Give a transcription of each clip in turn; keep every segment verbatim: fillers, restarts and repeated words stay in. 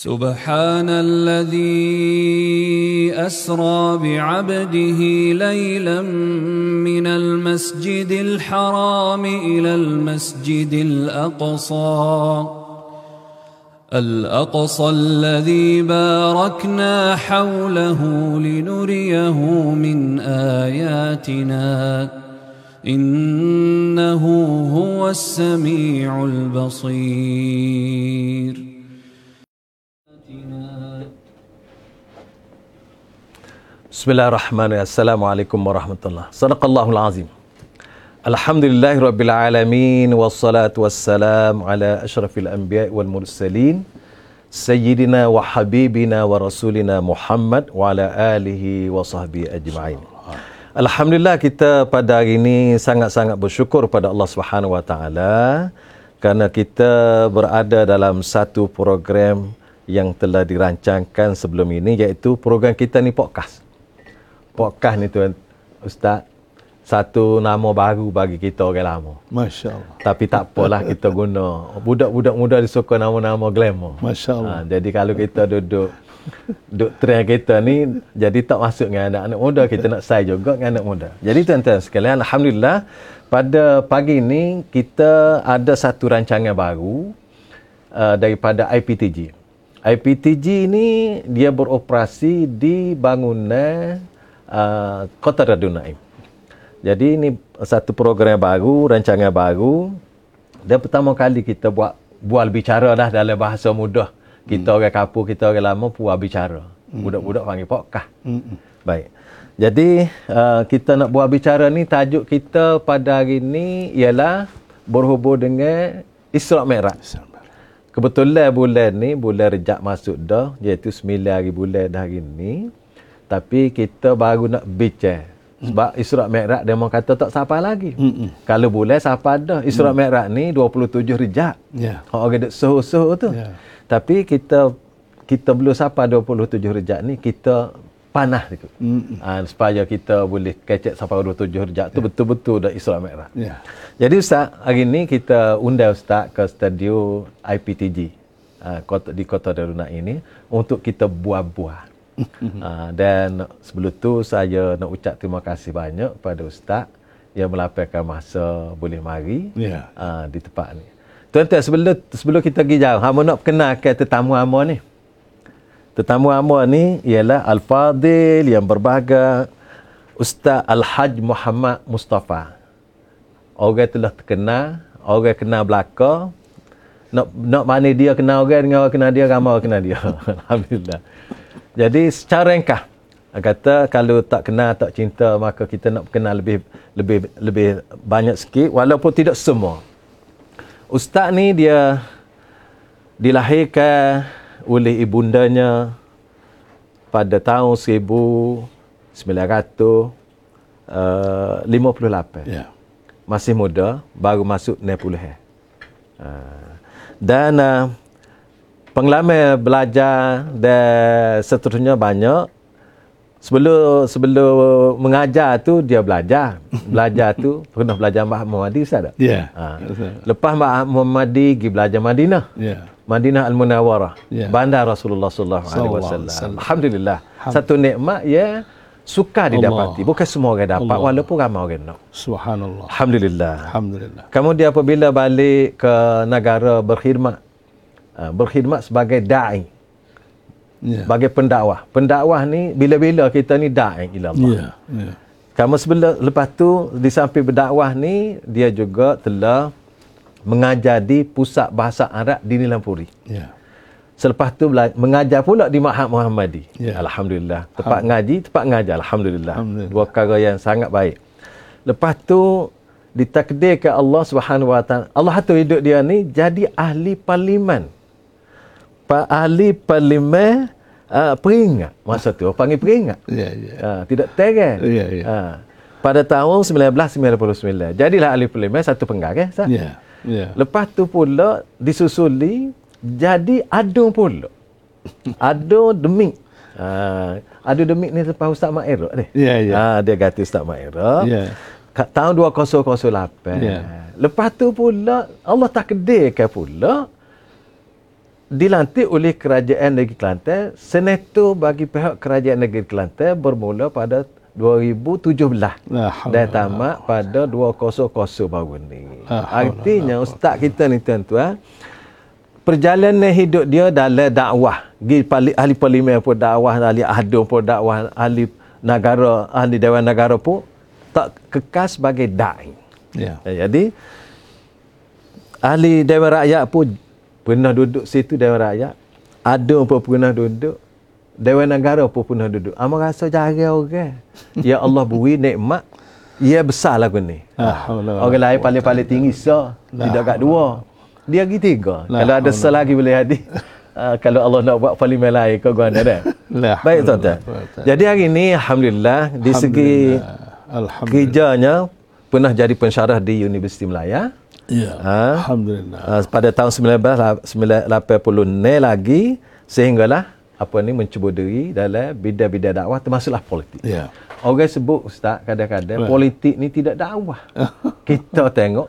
سبحان الذي أسرى بعبده ليلا من المسجد الحرام إلى المسجد الأقصى الأقصى الذي باركنا حوله لنريه من آياتنا إنه هو السميع البصير. Bismillahirrahmanirrahim. Assalamualaikum warahmatullahi wabarakatuh. Sadaqallahul azim. Alhamdulillahirabbil alamin wassalatu wassalamu ala asyrafil anbiya'i wal mursalin sayyidina wa habibina wa rasulina Muhammad wa ala alihi wa sahbihi ajma'in. Alhamdulillah, kita pada hari ini sangat-sangat bersyukur pada Allah Subhanahu wa taala kerana kita berada dalam satu program yang telah dirancangkan sebelum ini, iaitu program kita ni podcast. Podcast ni tuan Ustaz, satu nama baru bagi kita orang lama. Masya Allah. Tapi tak apalah, kita guna. Budak-budak muda disuka nama-nama glamour. Masya Allah. Ha, jadi kalau kita duduk duduk trend kita ni, jadi tak masuk dengan anak-anak muda, kita nak say juga dengan anak muda. Jadi tuan-tuan sekalian, alhamdulillah pada pagi ini kita ada satu rancangan baru uh, daripada I P T G. I P T G ni dia beroperasi di bangunan Uh, Kota Darul Naim. Jadi ini satu program baru, rancangan baru. Dan pertama kali kita buat bual bicara dah dalam bahasa mudah. Kita hmm. orang kapur, kita orang lama bual bicara. Hmm. Budak-budak panggil podcast. Hmm. Baik. Jadi uh, kita nak bual bicara ni, tajuk kita pada hari ni ialah berhubung dengan Isra' Mi'raj. Kebetulan bulan ni bulan Rejab masuk dah, iaitu sembilan hari bulan dah hari ni. Tapi kita baru nak bincang. Sebab Isra' Mi'raj dia mau kata tak sampai lagi. Mm-mm. Kalau boleh sampai dah. Isra' mm. Mi'raj ni dua puluh tujuh Rejab. Yeah. Orang duk suhu-suhu tu. Yeah. Tapi kita kita belum sampai dua puluh tujuh Rejab ni, kita panah tu. Ha, supaya kita boleh kecek sampai dua puluh tujuh Rejab tu, yeah. betul-betul dah Isra' Mi'raj. Yeah. Jadi Ustaz, hari ni kita undang Ustaz ke studio I P T G ha, kota, di Kota Darul Naim ini untuk kita buat-buat. uh, dan sebelum tu saya nak ucap terima kasih banyak kepada Ustaz yang melapangkan masa boleh mari yeah. uh, di tempat ni. Tuan-tuan, sebelum sebelum kita pergi jauh, hamba nak perkenalkan tetamu hamba ni. Tetamu hamba ni ialah Al-Fadil yang berbahagia Ustaz Al-Haj Muhammad Mustafa. Orang telah terkenal, orang kenal belaka. Nak nak mana dia kenal orang dengan orang kenal dia, ramai orang kenal dia. Alhamdulillah. Jadi secara ringkas, kata kalau tak kenal, tak cinta, maka kita nak kenal lebih lebih lebih banyak sikit, walaupun tidak semua. Ustaz ni dia dilahirkan oleh ibundanya pada tahun seribu sembilan ratus lima puluh lapan. Yeah. Masih muda, baru masuk enam puluh. Dan uh, pengalaman belajar dan seterusnya banyak. Sebelum sebelum mengajar tu dia belajar. Belajar tu pernah belajar Mbah Muhammadi, Ustaz tak? Ya. Yeah. Ha. Lepas Mbah Muhammadi pergi belajar Madinah. Ya. Yeah. Madinah Al-Munawwarah. Yeah. Bandar Rasulullah sallallahu alaihi wasallam. Alhamdulillah. Satu nikmat ya suka didapati. Bukan semua orang dapat, Allah. Walaupun ramai orang nak. Subhanallah. Alhamdulillah. Alhamdulillah. Kemudian apabila balik ke negara berkhidmat, berkhidmat sebagai da'i, yeah. sebagai pendakwah. Pendakwah ni bila-bila kita ni da'i ila Allah. Yeah. Yeah. Kamu sebelum lepas tu di samping berdakwah ni, dia juga telah mengajar di pusat bahasa Arab di Nilampuri. Yeah. Selepas tu mengajar pula di Ma'had Muhammadi. Yeah. Alhamdulillah. Tempat ngaji, tempat ngajar. Alhamdulillah. Alhamdulillah. Dua perkara yang sangat baik. Lepas tu ditakdirkan Allah Subhanahu wa taala, Allah atur hidup dia ni jadi ahli parlimen. Ahli parlimen uh, peringat masa tu, panggil peringat. Yeah, yeah. Uh, tidak terang. Yeah, yeah. Uh, pada tahun seribu sembilan ratus sembilan puluh sembilan. Jadilah ahli parlimen satu penggarang. Yeah, yeah. Lepas tu pula disusuli jadi adun pula. Adun demik. Uh, adun demik ni lepas Ustaz Mak Era ni. Yeah, yeah. Uh, dia kata Ustaz Mak Era. Yeah. Tahun dua ribu lapan. Yeah. Lepas tu pula Allah takdirkan pula dilantik oleh Kerajaan Negeri Kelantan. Senator bagi pihak Kerajaan Negeri Kelantan bermula pada dua ribu tujuh belas dan tamat pada dua ribu baru ni. Artinya ustaz kita ni tuan-tuan, perjalanan hidup dia dalam dakwah. Ahli parlimen pun dakwah, ahli ahdum pun dakwah, ahli negara, ahli Dewan Negara pun tak kekal sebagai da'i. Ya. Jadi ahli Dewan Rakyat pun pernah duduk situ Dewan Rakyat. Adun pun pernah duduk. Dewan Negara pun pernah duduk. Amal rasa jarang orang. Ya Allah beri nikmat. Ya besar lagu ni. Ah, orang lain paling-paling tinggi so. Tidak kat dua. Dia lagi tiga. Lah, kalau ada sel lagi boleh hadir. Uh, kalau Allah nak buat parlimen lain kau gua ada. Baik tuan-tuan. Jadi hari ini alhamdulillah di segi kerjanya pernah jadi pensyarah di Universiti Melaya. Ya. Ha? Alhamdulillah. Uh, pada tahun sembilan belas lapan puluh enam lagi sehinggalah apa ni mencuba diri dalam bidang-bidang dakwah termasuklah politik. Ya. Orang sebut ustaz kadang-kadang politik ni tidak dakwah. Kita tengok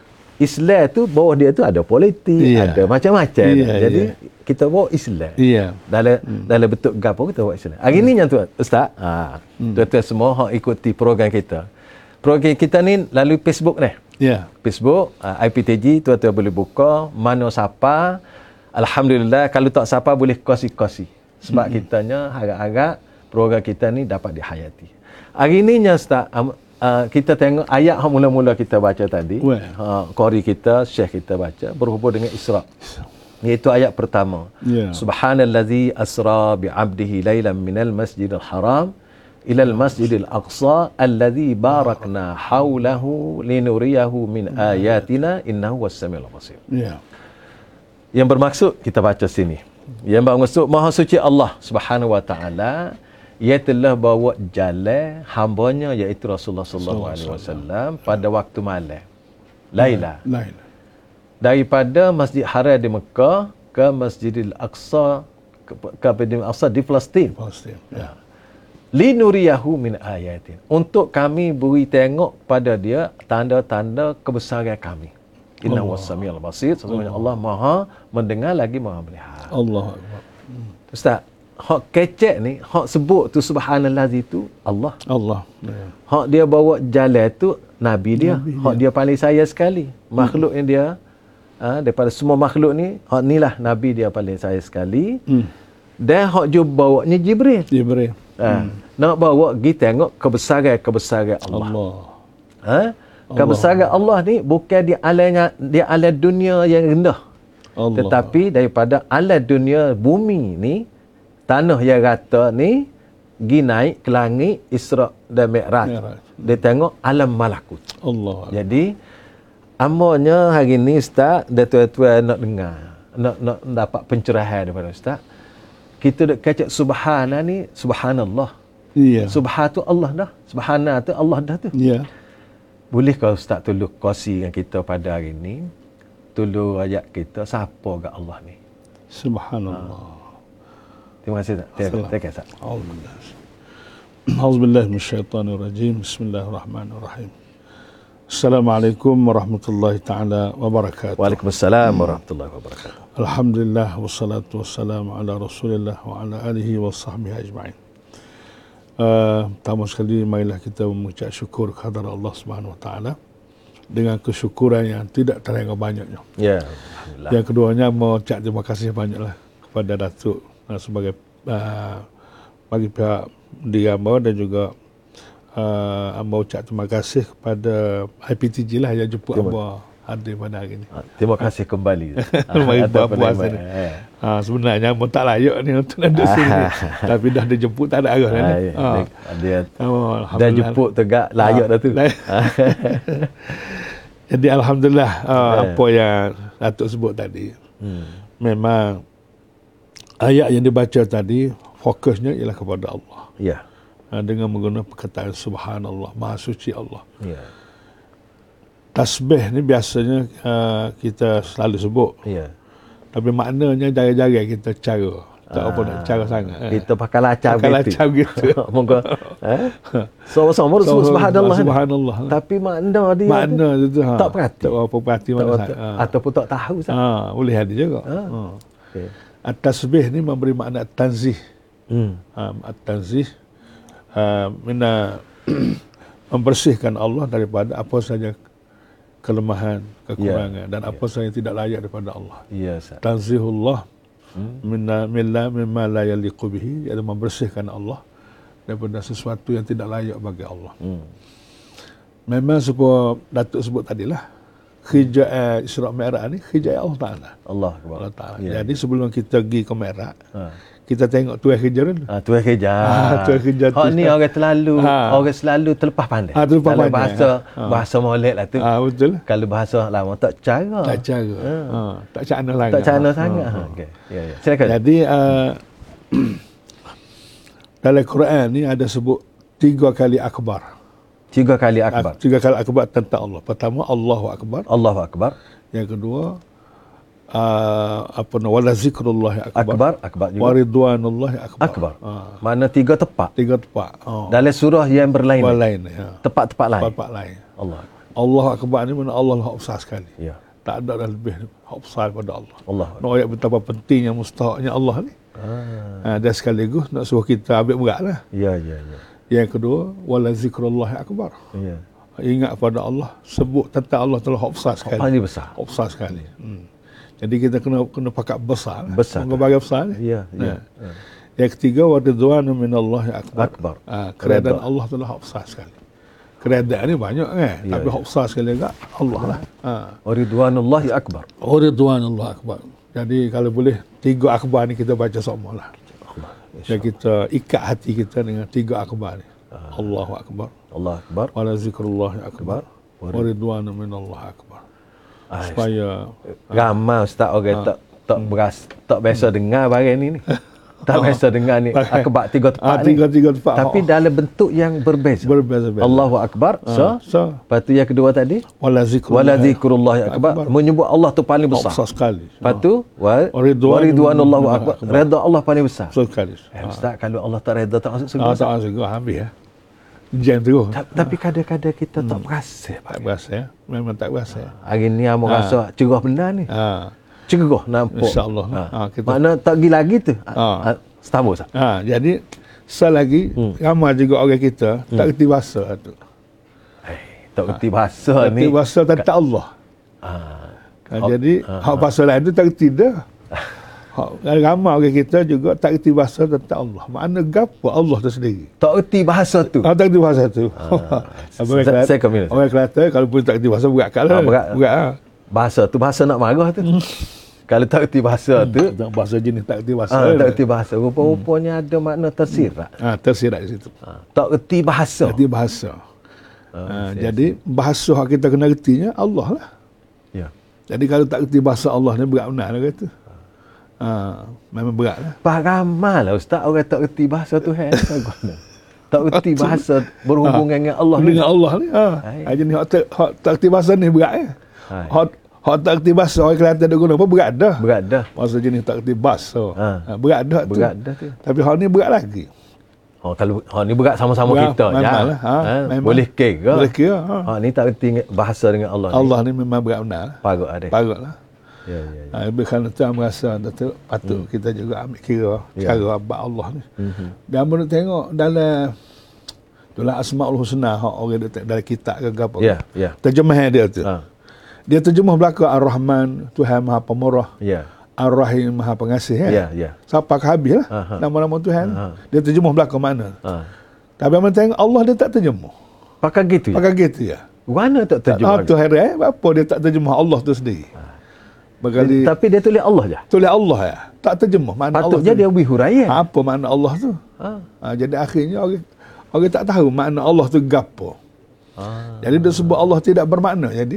Islam tu bawah dia tu ada politik, yeah. ada macam-macam. Yeah, Jadi yeah. kita bawa Islam. Yeah. Dalam hmm. dalam bentuk gapo kita bawa Islam. Hari hmm. ni yang tu ustaz, ha, hmm. tuan-tuan semua hak ikuti program kita. Program kita ni lalu Facebook ni. Yeah. Facebook, uh, I P T G tuan-tuan boleh buka, mana siapa. Alhamdulillah kalau tak siapa boleh kosi-kosi. Sebab hmm. kitanya harap-harap program kita ni dapat dihayati. Hari ni nya ustaz, um, Uh, kita tengok ayat yang mula-mula kita baca tadi. Uh, qari kita, syekh kita baca berhubung dengan Isra. Iaitu ayat pertama. Yeah. Subhanallazi asra bi'abdihi lailan minal masjidil haram ilal masjidil aqsa allazi barakna haulahu linuriyahu min ayatina innahu was-samiul basir. Yeah. Yang bermaksud kita baca sini. Yang bermaksud Maha Suci Allah Subhanahu wa taala, ia telah bawa jalan hambanya iaitu Rasulullah sallallahu alaihi wasallam pada waktu malam. Laila. Laila. Daripada Masjid Haram di Mekah ke Masjidil Aqsa ke, ke Masjidil Aqsa di Palestin. Palestin. Ya. Linuriyahu min ayatin. Untuk kami beri tengok pada dia tanda-tanda kebesaran kami. Innahu was-samiul basir. Sesungguhnya Allah Maha mendengar lagi Maha melihat. Allah. Ustaz, hak kecek ni, hak sebut tu subhanallazi tu Allah. Allah. Ya. Hak dia bawa jalan tu Nabi dia. Nabi hak dia. dia paling sayang sekali. Makhluk hmm. yang dia, ha, daripada semua makhluk ni, hak ni lah Nabi dia paling sayang sekali. Hmm. Dan hak dia bawa ni Jibril. Jibril. Ha, hmm. Nak bawa pergi tengok kebesaran-kebesaran Allah. Allah. Ha? Kebesaran Allah. Allah ni bukan di alam, di alam dunia yang rendah. Allah. Tetapi daripada alam dunia bumi ni, tanah yang rata ni pergi naik ke langit Isra dan Mi'raj. Dia tengok alam malakut. Allah. Jadi amanya hari ni ustaz dan tuan-tuan nak dengar, nak nak dapat pencerahan daripada ustaz. Kita nak kecek subhana ni subhanallah. Ya. Subhan tu Allah dah. Subhana tu Allah dah tu. Ya. Boleh kau ustaz tolong kongsi dengan kita pada hari ni? Tolong ayat kita siapa ke Allah ni? Subhanallah. Ha. Terima kasih tak? Terima kasih tak? Auzubillah minasyaitanirrajim. Bismillahirrahmanirrahim. Assalamualaikum warahmatullahi taala wabarakatuh. Waalaikumsalam warahmatullahi wabarakatuh. Alhamdulillah wassalatu wassalamu ala Rasulillah wa ala alihi wa sahbihi ajma'in. Uh, pertama sekali marilah kita mengucap syukur kepada Allah Subhanahu wa taala dengan kesyukuran yang tidak terhingga banyaknya. Ya, alhamdulillah. Yang keduanya mengucap terima kasih banyaklah kepada Datuk sebagai uh, bagi pihak di Amba dan juga uh, Amba ucap terima kasih kepada I P T G lah yang jemput Amba hadir pada hari ini. Terima kasih kembali. Mari buat puasa ni. Ha, sebenarnya Amba tak layak ni untuk duduk sini. Tapi dah dijemput tak ada arah ni. Ha. Dia oh, dah jemput tegak layak dah tu. Jadi alhamdulillah uh, apa yang Datuk sebut tadi. Hmm. Memang ayat yang dibaca tadi fokusnya ialah kepada Allah. Ya. Dengan menggunakan perkataan subhanallah, maha suci Allah. Ya. Tasbih ni biasanya uh, kita selalu sebut. Ya. Tapi maknanya jarang-jarang kita cara. Tak ah, apa nak cara sangat. Kita pakai lacak pakai lacak gitu. Moga eh sama-sama sebut subhanallah. Subhanallah. Tapi makna dia makna tu, tu ha, tak perhati. Tak apa perhati mana tak, ha. Ataupun tak tahu sah. Ha, boleh ada juga. Ha. Ha. Okay. At-tasbih ni memberi makna tanzih. Hmm. Um, at-tanzih uh, mina membersihkan Allah daripada apa saja kelemahan, kekurangan, yeah. dan apa yeah. saja yang tidak layak daripada Allah. Ya, Ustaz. Tanzihullah Hmm. minna milla mimma la yaliqu bihi, iaitu membersihkan Allah daripada sesuatu yang tidak layak bagi Allah. Hmm. Memang sebab Datuk sebut tadilah, khijai Isra' Mi'raj ni khijai Allah Taala. Allah, Allah Taala. Ya. Jadi sebelum kita pergi ke Mi'raj, ha. kita tengok tuai hijrah dulu. Ah, tuai hijrah. Ah, tuai hijrah. Hak ni orang terlalu ha. orang selalu terlepas pandai. Ah, terlepas Kalau pandai. bahasa Ha. bahasa Maulid lah tu. Ah, betul. Kalau bahasa lama tak cara. Tak cara. Ha. Ha. Tak cara sangat. Tak cara ha. sangat. Ha. Okey. Ya, ya. Silakan. Jadi uh, dalam Quran ni ada sebut tiga kali akbar. Tiga kali akbar. Tiga kali akbar tentang Allah. Pertama, Allahu Akbar. Allahu Akbar. Yang kedua, uh, apa nama, wala zikrullahi akbar. Akbar, akbar juga. Waridwanullahi akbar. Akbar. Ha. Mana tiga tepat. Tiga tepat. Oh. Dalam surah yang berlain. Berlain. Ya. Tepat-tepat lain. Tepat lain. Allah. Allah Akbar ni mana Allah lah besar sekali. Ya. Tak ada dah lebih besar daripada Allah. Allah. Nak ayat betapa pentingnya mustahaknya Allah ni. Ah. Ha, dan sekaligus nak suruh kita ambil berat lah. Ya, ya, ya. Yang kedua, wala zikrullahi akbar. Ya. Ingat pada Allah, sebut tentang Allah telah besar sekali. Paling besar. Besar sekali. Hmm. Jadi kita kena kena pakat besar. Besar. Mengebagai besar ni. Ya, ya. ya. Yang ketiga, wa ridwanu minallahi akbar. Akbar. Ha, keredaan Allah telah besar sekali. Keredaan ni banyak kan, ya, tapi ya. besar sekali juga Allah lah. Ha. Ridwanullahi akbar. Wa ridwanullah akbar. Jadi kalau boleh tiga akbar ni kita baca semua lah. Dan kita ikat hati kita dengan tiga akbar ni. Ah. Allahu Akbar. Allah Akbar. Wala zikrullahi akbar. Wa ridwanu minallah akbar. Ay, supaya ramai Ustaz orang ha. tak tak beras, tak biasa dengar barang ni ni. Tak biasa dengar ni akbar tiga tepat ah, ni. Tiga tiga tepat. Tapi oh. dalam bentuk yang berbeza. Berbeza-beza. Allahu Akbar. Ah. So, so, lepas tu yang kedua tadi wala zikrullahi, wala zikrullahi akbar. akbar. Menyebut Allah tu paling besar. Besar sekali. Lepas tu wa ridwanullahu akbar. Redha Allah paling besar. Besar sekali. Eh, Ustaz, kalau Allah tak redha tak masuk surga. Ah, tak masuk surga, habis ya. Jam terus. Ta- tapi kadang-kadang kita hmm. tak berasa. Tak berasa ya. Memang tak berasa. Hari ni amo ha. rasa cerah benda ni. Ha. Cerah nampak. Insya-Allah. Ha. Ha, kita... Mana tak pergi lagi tu. Ha. Setambah Ustaz. Ha, jadi selagi hmm. ramai juga orang kita hmm. tak kerti bahasa tu. Eh, tak kerti bahasa ha. ni. Kerti bahasa tentang Allah. Ha. Ha. Jadi ha. hak bahasa lain tu tak kerti dah. Hak ramai orang kita juga tak kerti bahasa tentang Allah. Makna gapo Allah tu sendiri. Tak kerti bahasa tu. Ha, tak kerti bahasa tu. Ha. Saya kami. Orang Kelantan kalau pun tak kerti bahasa berat kat lah. Ha, berat. berat ha. Bahasa tu bahasa nak marah tu. Kalau tak kerti bahasa tu, hmm. bahasa jenis tak kerti bahasa. Ha, tak kerti bahasa. Rupa-rupanya ada makna tersirat. Ha, tersirat di situ. Ha. Tak kerti bahasa. Tak kerti bahasa. Ha, ha, jadi bahasa yang kita kena kertinya Allah lah. Ya. Jadi kalau tak kerti bahasa Allah ni berat benar lah kata. Ha, memang berat lah. Paramal lah Ustaz, orang tak kerti bahasa Tuhan. Tak kerti bahasa berhubungan ha. dengan Allah ni. Dengan Allah ni. Ha. Ha, jadi hak tak, hak tak kerti bahasa ni berat ya. Hak hak tak kerti bahasa orang Kelantan duk guna apa berat dah. Berat dah. Bahasa jenis tak kerti bahasa. Ha. Ha, berat dah tu. Berat dah tu. Tapi hak ni berat lagi. Oh, kalau hak ni berat sama-sama berat, kita je. Lah. Ha. Ha. Boleh kira. Boleh kira. Ha. Hak ni tak kerti bahasa dengan Allah ni. Allah ni memang berat benar. Parut ada. Parut lah. Ya, ya, ya. Ha, lebih kerana tu merasa Datuk, patut hmm. kita juga ambil kira ya. cara abad Allah ni. Mm-hmm. Dan menurut tengok dalam itulah Asmaul Husna hak orang dalam kitab ke apa. Ya, ya. Terjemah dia tu. Ha. Dia terjemah belaka Ar-Rahman, Tuhan Maha Pemurah. Ya. Ar-Rahim Maha Pengasih ya. Ya, ya. Sampai ke habis lah Aha. nama-nama Tuhan. Aha. Dia terjemah belaka mana. Ha. Tapi menurut tengok Allah dia tak terjemah. Pakai gitu ya. Pakai gitu ya. Mana tak terjemah? Ah, tu heran apa dia tak terjemah Allah tu sendiri. Ha. Berkali, tapi dia tulis Allah je. Tulis Allah ya. Tak terjemah makna Allah. Patutnya dia beri huraian. Apa makna Allah tu? Ha. Ha, jadi akhirnya orang orang tak tahu makna Allah tu gapo. Ha. Jadi dia sebut Allah tidak bermakna jadi.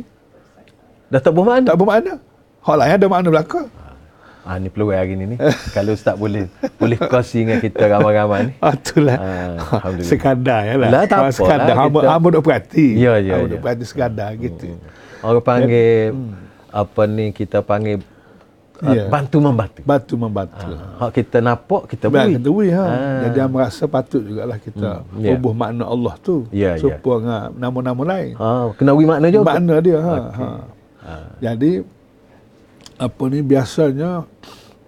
Dah tak bermakna. Tak bermakna. Hak lain ada makna belaka. Ah ni peluang hari ni ni. Kalau Ustaz boleh boleh kongsi dengan kita ramai-ramai ni. Ah itulah. Ah, alhamdulillah. Sekadar yalah. Lah tak apa. Sekadar hamba hamba duk perhati. Ya ya. Hamba duk perhati sekadar gitu. Orang panggil hmm. apa ni kita panggil yeah. bantu membantu. Bantu membantu. Ha, kita nampak kita beri. Kita beri ha. ha. Jadi dia merasa patut jugalah kita hmm. yeah. ubah makna Allah tu yeah, supaya yeah. nama-nama lain. Ha, kena beri makna juga. Makna dia ha. Okay. ha. ha. Jadi apa ni biasanya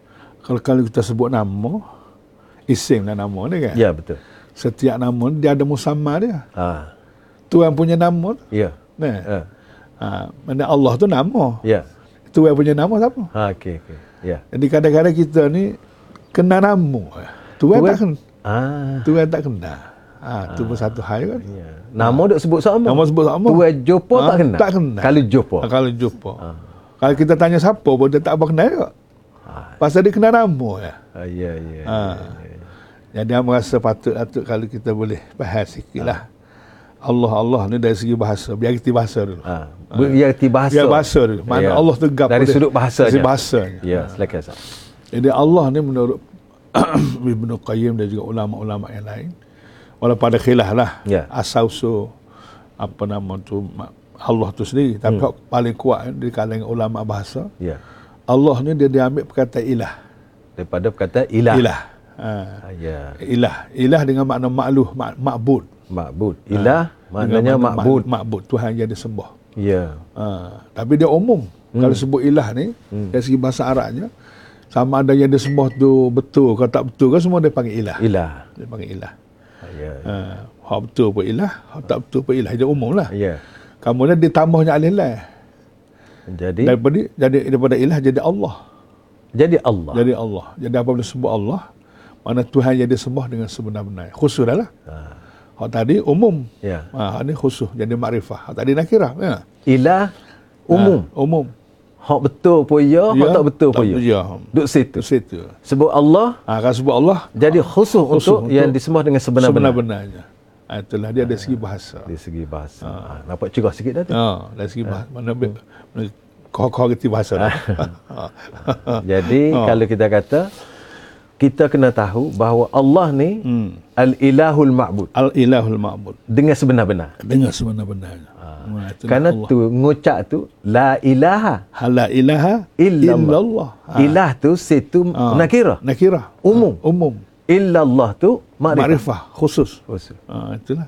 Kalau kalau kita sebut nama, isim dan nama ni kan. Ya, betul. Setiap nama dia ada musamma dia. Ha. Tuhan punya nama. Ya. Nah. Ha. Ha, mana Allah tu nama. Ya. Tuhan punya nama siapa? Ha, okey okey. Ya. Jadi kadang-kadang kita ni kena nama. Tuhan, Tuhan tak kena. Ah. Tuhan tak kena. Ha, tu pun satu hal kan. Ya. Nama duk sebut sama. Nama sebut sama. Tuhan jumpa Ha, tak kena. tak kena. Kalau jumpa. Ha, kalau jumpa. Ha. Kalau kita tanya siapa pun dia tak apa kenal juga. Ha. Pasal dia kena nama ya. Ha, ya ya. Ha. Ya, ya. Jadi saya merasa patut-patut kalau kita boleh bahas sikit lah. Allah Allah ni dari segi bahasa. Biar kita bahasa dulu. Ha. Biar kita bahasa. Biar bahasa dulu. Mana Ya. Allah tegap dari pada- sudut bahasanya. Dari bahasanya. Ya, silakan Ustaz. Jadi Allah ni menurut Ibnu Qayyim dan juga ulama-ulama yang lain, walaupun ada khilaf lah Ya. asal-usul apa nama tu Allah tu sendiri, tapi Hmm. paling kuat di kalangan ulama bahasa, Ya. Allah ni dia diambil perkataan ilah. Daripada perkataan ilah. Ilah. Ha. Ha, ya. Ilah. Ilah dengan makna makluh, mak, makbud. Makbud. Ilah maknanya Dengan makna makbud. mak- Makbud. Tuhan yang disembah. Ya. Ha. Tapi dia umum. Hmm. Kalau sebut ilah ni, Hmm. dari segi bahasa Arabnya, sama ada yang disembah tu betul, kalau tak betul kan semua dia panggil ilah. Ilah. Dia panggil ilah. Ha, ya. Ha. Hak betul pun ilah, hak tak betul pun ilah. Dia umum lah. Ya. Kemudian ditambahnya alih lah. Jadi Daripada, jadi, daripada ilah jadi Allah. jadi Allah. Jadi Allah. Jadi apabila sebut Allah, mana Tuhan yang disembah dengan sebenar-benarnya. Khusus dah lah. Ha. Hak tadi umum. Ya. Ha, hak ni khusus. Jadi makrifah. Hak tadi nakirah. Ya. Ilah umum. Ha, umum. Hak betul pun ya, hak tak betul pun ya. Ya. Duduk situ. Di situ. Sebut Allah Ha, kalau sebut Allah, jadi khusus, Khusus untuk, yang disembah dengan sebenar-benar. sebenar-benarnya. Ha, itulah dia dari segi bahasa. Dari segi bahasa. Ha. Nampak cerah sikit dah tu. Ha, dari segi bahasa. Mana mana kau-kau kerti bahasa dah. Jadi Ha. kalau kita kata kita kena tahu bahawa Allah ni Hmm. al-ilahul ma'bud Al-ilahul ma'bud. dengan sebenar-benar. Dengan sebenar-benarnya. Ha, itulah Kerana Allah. tu ngucap tu la ilaha Hala ilaha illallah. illallah. Ha. Ilah tu situ Ha. nakirah. Nakirah. Umum. Ha, umum. Illallah tu makrifah. Makrifah khusus. Khusus. Ha, itulah.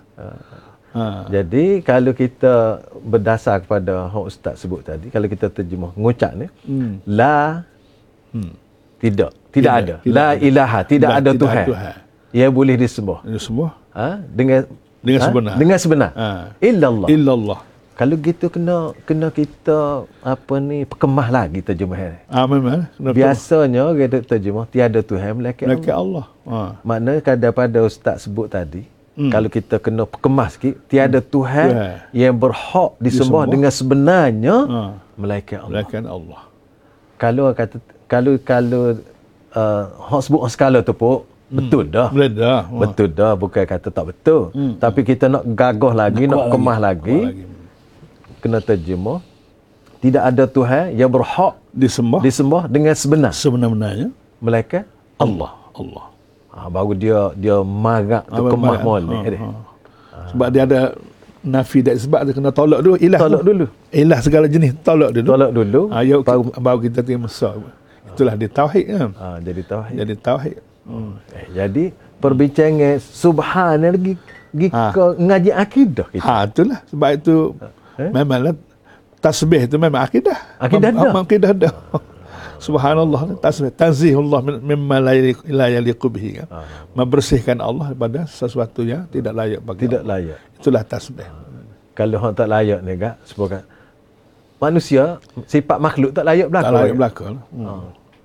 Ha. Jadi kalau kita berdasar kepada hak ustaz sebut tadi, kalau kita terjemah ngucap ni, Hmm. la Hmm. tidak, tidak, Tidak, ada. tidak La ada. ilaha, tidak, Tidak- ada tidak Tuhan. Tuhan. Yang boleh disembah. Ini semua Ha? Dengan dengan ha? sebenar. Dengan sebenar. Ha. Illallah. Illallah. Kalau gitu kena kena kita apa ni perkemah lagi terjemahan. Ah, memang. Kenapa? Biasanya orang duk terjemah tiada Tuhan melainkan Allah. Laki Allah. Ha. Maknanya kan daripada ustaz sebut tadi, Hmm. kalau kita kena perkemah sikit, tiada Tuhan Tuhan. yang berhak disembah Disembah. dengan sebenarnya Ha. melainkan Allah. Laki Allah. Kalau kata kalau kalau uh, hak sebut orang skala tu pun betul dah. Boleh dah. Ha. Betul dah, bukan kata tak betul. Hmm. Tapi kita nak gagah lagi, nak, kuat kemah lagi, Kuat kena terjemah tidak ada Tuhan yang berhak Disembah disembah dengan sebenar sebenar-benarnya melainkan Allah. Allah. ha, baru dia dia marak tu Ah, kemah baik. molek Ha, dia. ha. Sebab dia ada nafi dan sebab dia kena tolak dulu ilah. Tolak dulu. Ilah segala jenis tolak dulu. Tolak dulu. Ha, ya, baru baru kita terima sah. Itulah dia tauhid kan. ha, jadi tauhid. Jadi tauhid. Hmm. Eh, jadi perbincangan subhan lagi gi Ha. ke ngaji akidah kita. Ha, itulah sebab itu Eh? memanglah tasbih itu memang akidah. Akidah Mem- dah. Memang akidah dah. Subhanallah, tasbih, tanzihullah min- mimma la yaliqu la yaliqu bihi kan. Membersihkan Allah daripada sesuatu yang tidak layak bagi Tidak Allah. layak. Itulah tasbih. Kalau orang tak layak ni gak sebagai manusia, sifat makhluk tak layak berlaku. Tak layak belakang. Hmm.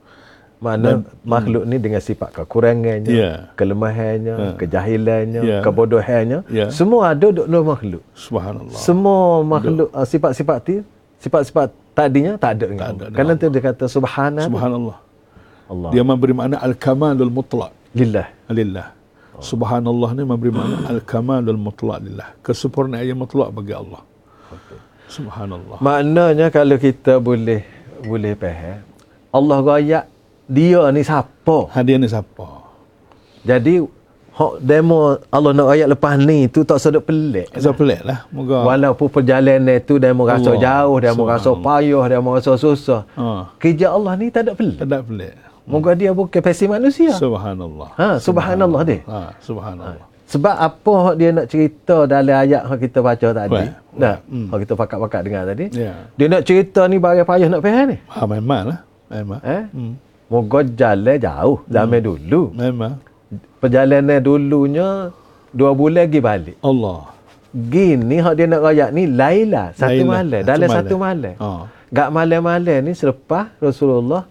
Mana makhluk ni dengan sifat kekurangannya, Ya. kelemahannya, Ha. kejahilannya, Ya. kebodohannya, Ya. semua ada dalam makhluk. Subhanallah. Semua makhluk uh, sifat-sifat ti, sifat-sifat tadinya tak ada dengan Tak ada Allah. dengan Kerana tu dia kata subhana Subhanallah. Allah. Dia memberi makna al-kamalul mutlaq Lillah. lillah. Subhanallah ni memberi makna al-kamalul mutlaq lillah. Kesempurnaan yang mutlak bagi Allah. Subhanallah. Maknanya kalau kita boleh boleh faham, Allah royak dia ni siapa? Hadiah ni siapa? Jadi hak demo Allah nak ayat lepas ni tu tak sedap pelik. Saya pelik lah. Moga. Walaupun perjalanan tu demo rasa Allah. jauh, demo rasa Subhanallah. payah, demo rasa susah. Ha. Kerja Allah ni tak ada pelik. Tak ada pelik. Moga dia bukan versi manusia. Subhanallah. Ha, subhanallah dia. Ha, subhanallah. Sebab apa hak dia nak cerita dalam ayat yang kita baca tadi? Baik. Nah, Hmm. hak kita pakat-pakat dengar tadi. Ya. Dia nak cerita ni bagi payah nak faham ni. Ha, memang lah. Memang. Eh? Hmm. moga jalan jauh zaman hmm. dulu. Memang. Perjalanan dulunya dua bulan pergi balik. Allah. Gini hak dia nak rayak ni Laila satu Laila, malam, satu dalam malam. satu malam. Oh. Gak malam-malam ni selepas Rasulullah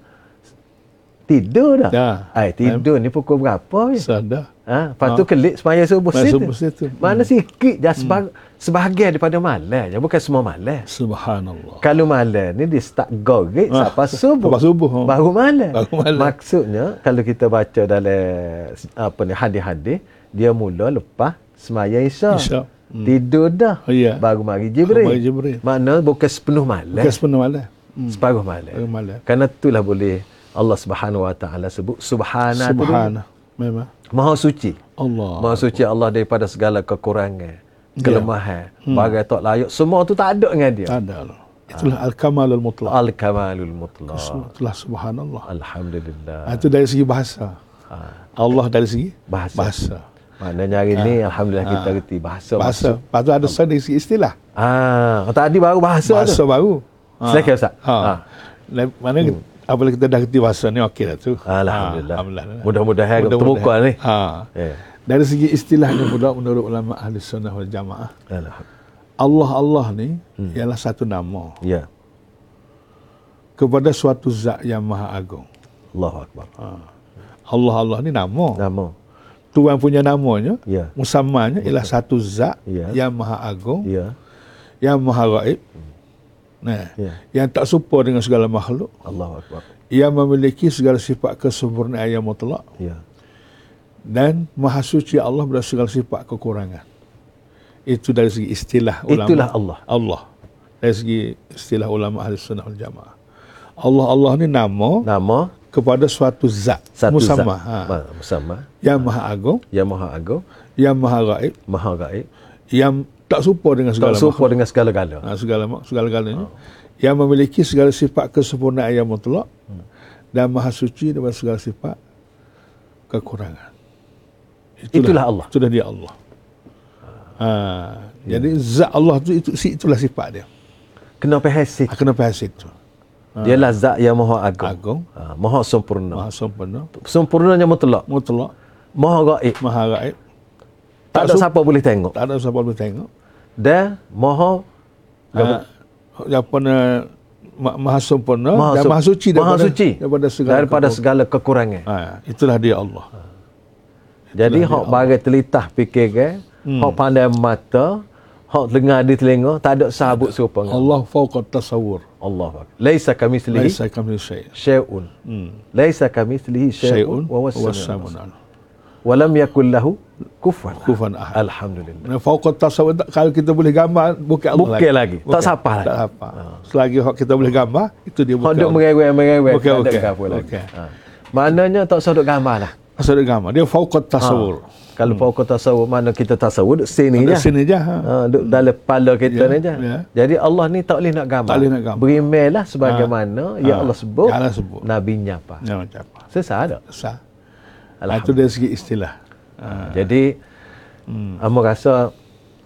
tidur dah. Dah. Ai tidur ni pukul berapa ya? Sudah. Ha, lepas tu Ha. kelik semaya subuh Semaya situ. subuh situ. Mana Hmm. sikit je sebag, sebahagian daripada malam je, bukan semua malam. Subhanallah. Kalau malam ni dia start gorek Ah, sampai subuh. sampai subuh, ha. Baru malam. Baru malam. Maksudnya kalau kita baca dalam apa ni hadis-hadis, dia mula lepas semaya Isya. Isya. Hmm. Tidur dah. Oh, ya. Baru mari Jibril. Mari Jibril. Makna bukan sepenuh malam. Bukan sepenuh malam. Hmm. Separuh malam. Separuh malam. Kerana itulah boleh Allah Subhanahu Wa Taala sebut subhana tu dia. Subhana. Memang. Maha suci. Allah. Maha suci Allah daripada segala kekurangan, kelemahan, Hmm. bagai tak layak. Semua tu tak ada dengan dia. Tak ada. Itulah al-kamalul mutlaq. Al-kamalul mutlaq. Itulah subhanallah. Alhamdulillah. Ah, itu dari segi bahasa. Allah dari segi Bahasa. bahasa. Maknanya hari ni alhamdulillah kita reti bahasa. Bahasa. Lepas tu ada saya dari segi istilah. Ah, tadi baru bahasa, Bahasa tu. baru. Silakan Ustaz. Ha. Ha. Ha. Mana hmm. apabila kita dah reti bahasa ni okey dah tu. Alhamdulillah. Ha, Alhamdulillah. Mudah-mudahan terbuka ni. Ha. Ya. Dari segi istilahnya pula menurut ulama ahli sunnah wal jamaah, Alhamdulillah. Allah Allah ni Hmm. ialah satu nama Ya. kepada suatu zat yang maha agung. Allahu akbar. Ha. Allah Allah ni nama. Nama. Tuhan punya namanya, Ya. musammanya ialah satu zat Ya. yang maha agung, Ya. yang maha gaib. Nah, Ya. yang tak serupa dengan segala makhluk, Allahu akbar. yang memiliki segala sifat kesempurnaan yang mutlak, Ya. dan maha suci Allah dari segala sifat kekurangan. Itu dari segi istilah ulama. Itulah Allah. Allah. Dari segi istilah ulama ahli sunnah wal jamaah. Allah Allah ni nama Nama kepada suatu zat. satu musamma. zat. Ha. Ma- Musamma. Yang maha agung, Yang Maha Agung, yang maha gaib, Maha Gaib, yang tak serupa dengan segala tak serupa dengan segala-gala. Ha, segala segala-galanya. Yang memiliki segala sifat kesempurnaan yang mutlak, hmm. dan maha suci daripada segala sifat kekurangan. Itulah Allah. Itulah dia Allah. Ha, ya. Jadi zat Allah tu itu itulah sifat dia. Kena faham situ. Ha, kena faham situ. Dialah zat yang Maha Agung. Agung, Ha, Maha sempurna. maha sempurna, Sempurnanya mutlak. mutlak, Maha Gaib. maha gaib. Tak ada sup- siapa boleh tengok. Tak ada siapa boleh tengok. Dan Maha Ha, apa na ma- maha sempurna Maha dan su- maha suci Maha daripada, suci daripada segala daripada kekur- segala kekurangan. Ha, itulah dia Allah. Jadi Itulah hak dia bagai telitah fikir ke, Hmm. hak pandai mata, hak dengar di telinga, tak ada sabut serupa dengan Allah fauqa tasawwur. Allah. Laisa kamitslihi Laisa kamitslihi syai'. syai'un. Hmm. Laisa kamitslihi Syai'un syai'un wa wa huwa as-sami'ul as-sami'ul alim. wa lam yakul lahu kufuwan Kufuwan ahad. Alhamdulillah. Nah, fauqa tasawwur tak- kalau kita boleh gambar bukan Allah Bukan lagi. Tak siapa lagi. Tak siapa. Selagi hak kita boleh gambar, itu dia Hak bukan. duk merewek-merewek. Okey, tak ada okey. apa lagi. Okey. Ha. Maknanya tak usah duk gambar lah. Asal dia gambar, dia fauqa tasawwur. Kalau pokok tasawuf, mana kita tasawuf duk sini je. Di sini je. Ha. Ha, duk dalam kepala kita Ya, ni je. ya. Jadi Allah ni tak boleh nak gambar. Tak boleh nak gambar. Berimelah sebagaimana Ha. ya Ha. Allah sebut. Ya Allah sebut. Nabinya apa. Ya macam apa? Sesat ada. Sah. Ha, itu dari segi istilah. Ha. Jadi hmm. Amo rasa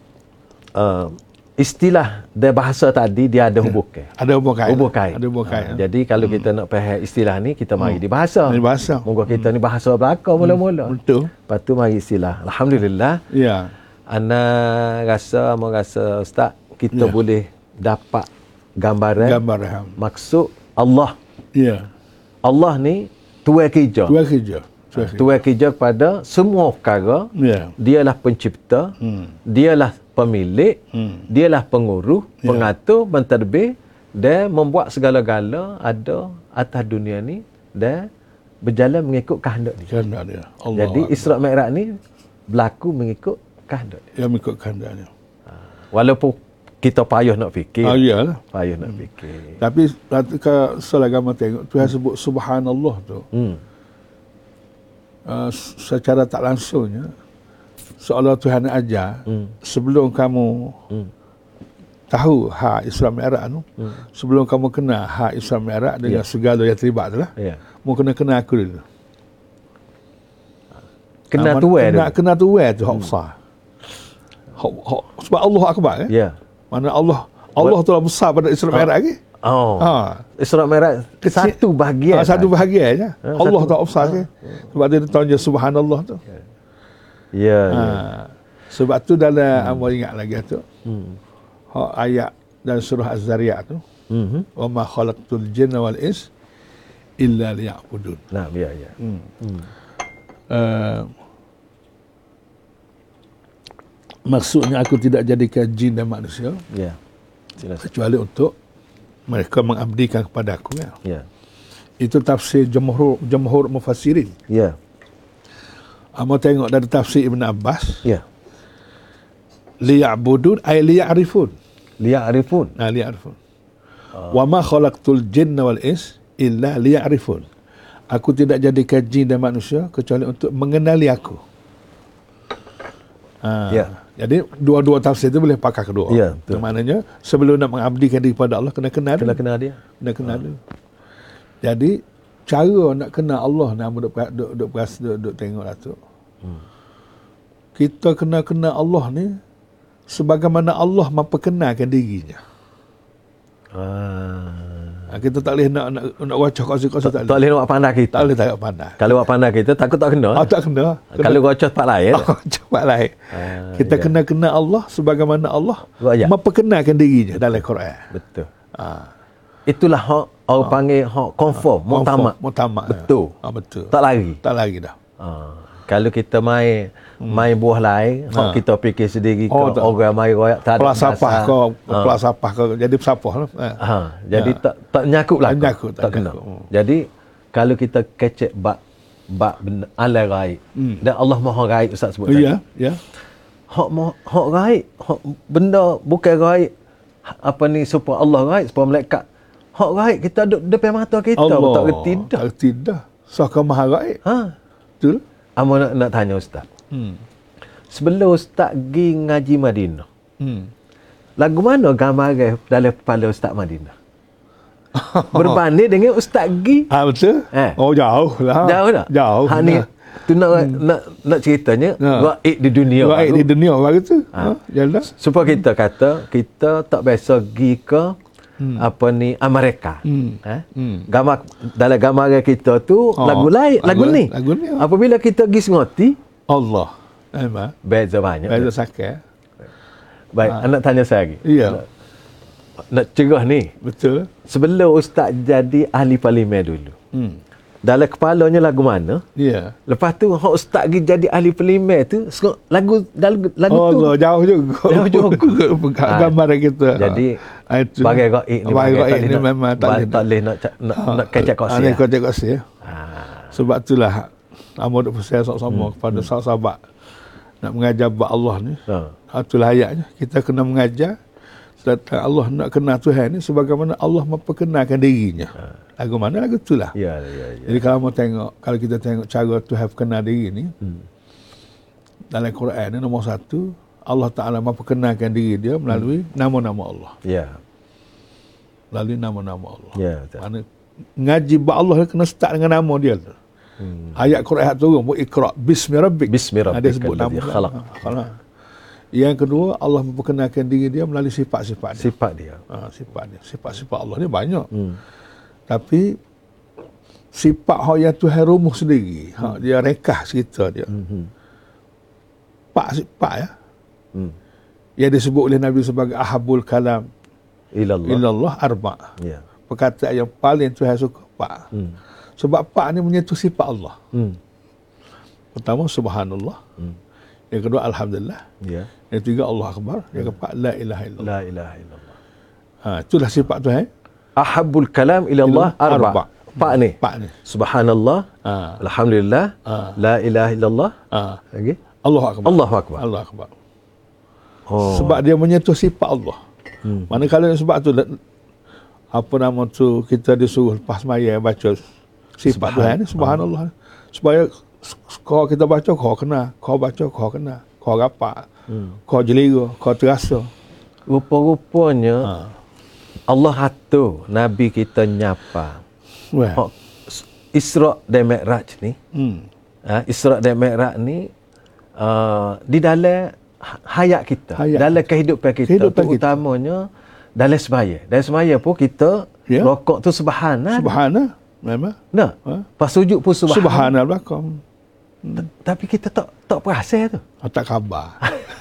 uh, istilah dan bahasa tadi dia ada hubungan. Ada hubung kait. Hubung kait. Ada hubung kait. Ha. Jadi kalau kita nak faham istilah ni, kita mari di bahasa. Di bahasa. Moga kita ni bahasa belaka mula-mula. Betul. Lepas tu mari istilah. Alhamdulillah. Ya. Ana rasa, amo rasa Ustaz, kita Ya. boleh dapat gambaran Gambar ham. maksud Allah. Ya. Allah ni tuan kerja. Tuan kerja. Tuan kerja. Tuan kerja kepada semua perkara. Ya. Dialah pencipta, Hmm. dialah pemilik, Hmm. dialah pengurus, Ya. pengatur, mentadbir dan membuat segala-gala ada atas dunia ni dan berjalan mengikut kehendak dia. Kehendak dia. Allah. Jadi Isra' Mi'raj ni berlaku mengikut kehendak dia. yang mengikut kehendak dia. Walaupun kita payah nak fikir. Ah, iyalah. Payah nak fikir. Tapi ketika selagama tengok Tuhan sebut subhanallah tu. Hmm. Uh, secara tak langsungnya seolah Tuhan ajar Hmm. sebelum kamu Hmm. tahu hak Isra' Mi'raj tu, Hmm. sebelum kamu kenal hak Isra' Mi'raj dengan Ya. segala yang terlibat tu lah, Ya. mu kena kenal aku dulu. Kena Ah, tuai kena, dulu. kena tuai tu hak besar. Hak, hak, sebab Allah Akbar kan? Ya. Mana Allah Allah tu lah besar pada Isra' Mi'raj lagi. Oh. Ha. Isra Mi'raj satu bahagian. Ha, satu bahagian je. Ha, Allah satu. tak offside ke. Sebab dia tanya subhanallah tu. Ya. Ha. ya. Sebab tu dalam hmm. amal ingat lagi tu. Hmm. Hak ayat dan surah Az-Zariyat tu. Mhm. Wa ma khalaqtul jinna wal ins illa liya'budun. Nah, ya ya. Hmm. Hmm. Uh, maksudnya aku tidak jadikan jin dan manusia Ya. Silakan. kecuali untuk mereka mengabdikan kepada aku ya. Ya. Itu tafsir jumhur jumhur mufassirin. Ya. Amo tengok dari tafsir Ibn Abbas, Ya. liya'budun ay liya'rifun. Liya'rifun. Nah, liya'rifun. Oh. Wa ma khalaqtul jinna wal ins illa liya'rifun. Aku tidak jadikan jin dan manusia kecuali untuk mengenali aku. Ha. Ya. Jadi dua-dua tafsir itu boleh pakai kedua. Ya, betul. Yang maknanya sebelum nak mengabdikan diri kepada Allah kena kenal Kena dulu. kenal dia. Kena kenal dulu. Jadi cara nak kenal Allah nak duk duk duk duk, duk, duk tengok lah tu. Hmm. Kita kena kenal Allah ni sebagaimana Allah memperkenalkan dirinya. Ah. Ha, kita tak boleh nak nak, nak wacah kongsi-kongsi tak, Tak boleh nak pandai kita. Tak boleh tak pandai. Kalau awak pandai kita takut tak kena. Oh, tak kena. kena. Kalau gocok tempat lain. Oh, cepat lain. Ah, Kita ya. kena kenal Allah sebagaimana Allah Ya. memperkenalkan dirinya dalam Quran. Betul. Ha. Itulah hak orang panggil hak confirm, muktamad. Muktamad. Betul. Ha, betul. Tak lari. Tak lagi dah. Ah. Kalau kita main main buah lain, hak Ha. kita fikir sendiri ke Oh, tak. orang main royak tak ada Pelasapah dasar. kau, Ah. pelasapah kau jadi pesapah lah. Ha. Ha, jadi Ya. tak tak nyakut lah. Tak nyakut, tak tak kena. nyakut. Hmm. Jadi kalau kita kecek bab bab benda alai gaib Hmm. dan Allah Maha gaib Ustaz sebut Oh, tadi. ya, ya. Hak maha- hak gaib, hak benda bukan gaib apa ni supaya Allah gaib, supaya malaikat. Hak gaib kita duduk depan mata kita, Allah. tak reti dah. Tak reti dah. Sokong maha gaib. Ha. Betul? Amo nak, nak tanya Ustaz. Hmm. Sebelum Ustaz pergi ngaji Madinah, Hmm. lagu mana gambar dalam kepala Ustaz Madinah? Berbanding dengan Ustaz pergi. Ah, betul? Eh. Oh, jauh lah. Jauh tak? Jauh. Ha ni tu nak hmm. nak nak ceritanya Ha. gaib di dunia. Gaib baru. di dunia baru tu. Ha. Ha. Jalan. Supaya kita kata kita tak biasa pergi ke hmm. apa ni Amerika. Hmm. Eh? Hmm. Gambar dalam gambaran kita tu Oh, lagu lain, lagu, lagu- ni. lagu ni, oh. Apabila kita pergi sengoti, Allah. Memang. beza banyak. Baik sakit. Baik, Ha. anak tanya saya lagi. Ya. Nak, nak cerah ni. Betul. Sebelum Ustaz jadi ahli parlimen dulu. Hmm. Dalam kepalanya lagu mana? Ya. Lepas tu hak Ustaz pergi jadi ahli parlimen tu sengok lagu lagu, lagu Oh, tu. Allah, jauh juga. Jauh juga. Ha. Gambaran kita. Jadi Ha, itu. bagai gaib ni Bagai gaib tak ni boleh nak- memang tak ba- boleh. tak boleh nak ca- nak Ha. nak kecek kos Ha, ya. ni kocek kos ya. Ha. Sebab itulah Amo duk pesan sama-sama Hmm. kepada sahabat nak mengajar bab Allah ni. Ha. Ha, itulah ayatnya. Kita kena mengajar tentang Allah nak kenal Tuhan ni sebagaimana Allah memperkenalkan dirinya. Ha. Lagu mana lagu itulah. Ya, ya, ya. Jadi kalau mau tengok, kalau kita tengok cara Tuhan kenal diri ni, Hmm. dalam Quran ni nombor satu, Allah Ta'ala memperkenalkan diri dia melalui Hmm. nama-nama Allah. Ya. Melalui nama-nama Allah. Ya, betul. Mana ngaji bab Allah kena start dengan nama dia tu. Hmm. Ayat Quran turun, bu ikra bismi rabbik. Bismi Ha, dia sebut rabbikal nama ladzi dia. khalaq. Ha, khalaq. Yang kedua, Allah memperkenalkan diri dia melalui sifat-sifat dia. Sifat dia. Ha, sifat dia. Sifat-sifat Allah ni banyak. Hmm. Tapi sifat hak yang Tuhan rumuh sendiri, hak dia rekah cerita dia. Hmm. Pak sifat ya. Hmm. Yang disebut oleh Nabi sebagai ahabul kalam Ilallah. illallah arba. Ya. Perkataan yang paling Tuhan suka pak. Hmm. Sebab pak ni menyentuh sifat Allah. Hmm. Pertama subhanallah. Hmm. Yang kedua alhamdulillah. Ya. Yang ketiga Allah akbar. Yang keempat la ilaha illallah. La ilaha illallah. Ha, itulah sifat Tuhan. Ahabbul kalam ilallah Ilallah arba. arba. Pak ni. Pak ni. Subhanallah. Ha. Alhamdulillah. Ha. La ilaha illallah. Ha. Lagi? Allah akbar. Allahu akbar. Allah akbar. Oh. Sebab dia menyentuh sifat Allah. Hmm. Manakala sebab tu apa nama tu kita disuruh lepas maya baca sifat Tuhan ni subhanallah. Supaya kau kita baca kau kena, kau baca kau kena, kau rapat, hmm. kau jelira, kau terasa. Rupa-rupanya Ha. Allah atur Nabi kita nyapa. Wah. Hak Isra dan Mi'raj ni, Hmm. ha, Isra dan Mi'raj ni uh, di dalam hayat kita, Hayat dalam kehidupan kita, Kehidupan kita. terutamanya dalam semaya. Dalam semaya pun kita Ya. rokok tu subhanallah. Subhanallah. Memang. Nah, Ha? pas sujud pun subhanallah. Subhanallah belakang. Ta- Tapi kita tak tak perasan tu. Oh, tak khabar.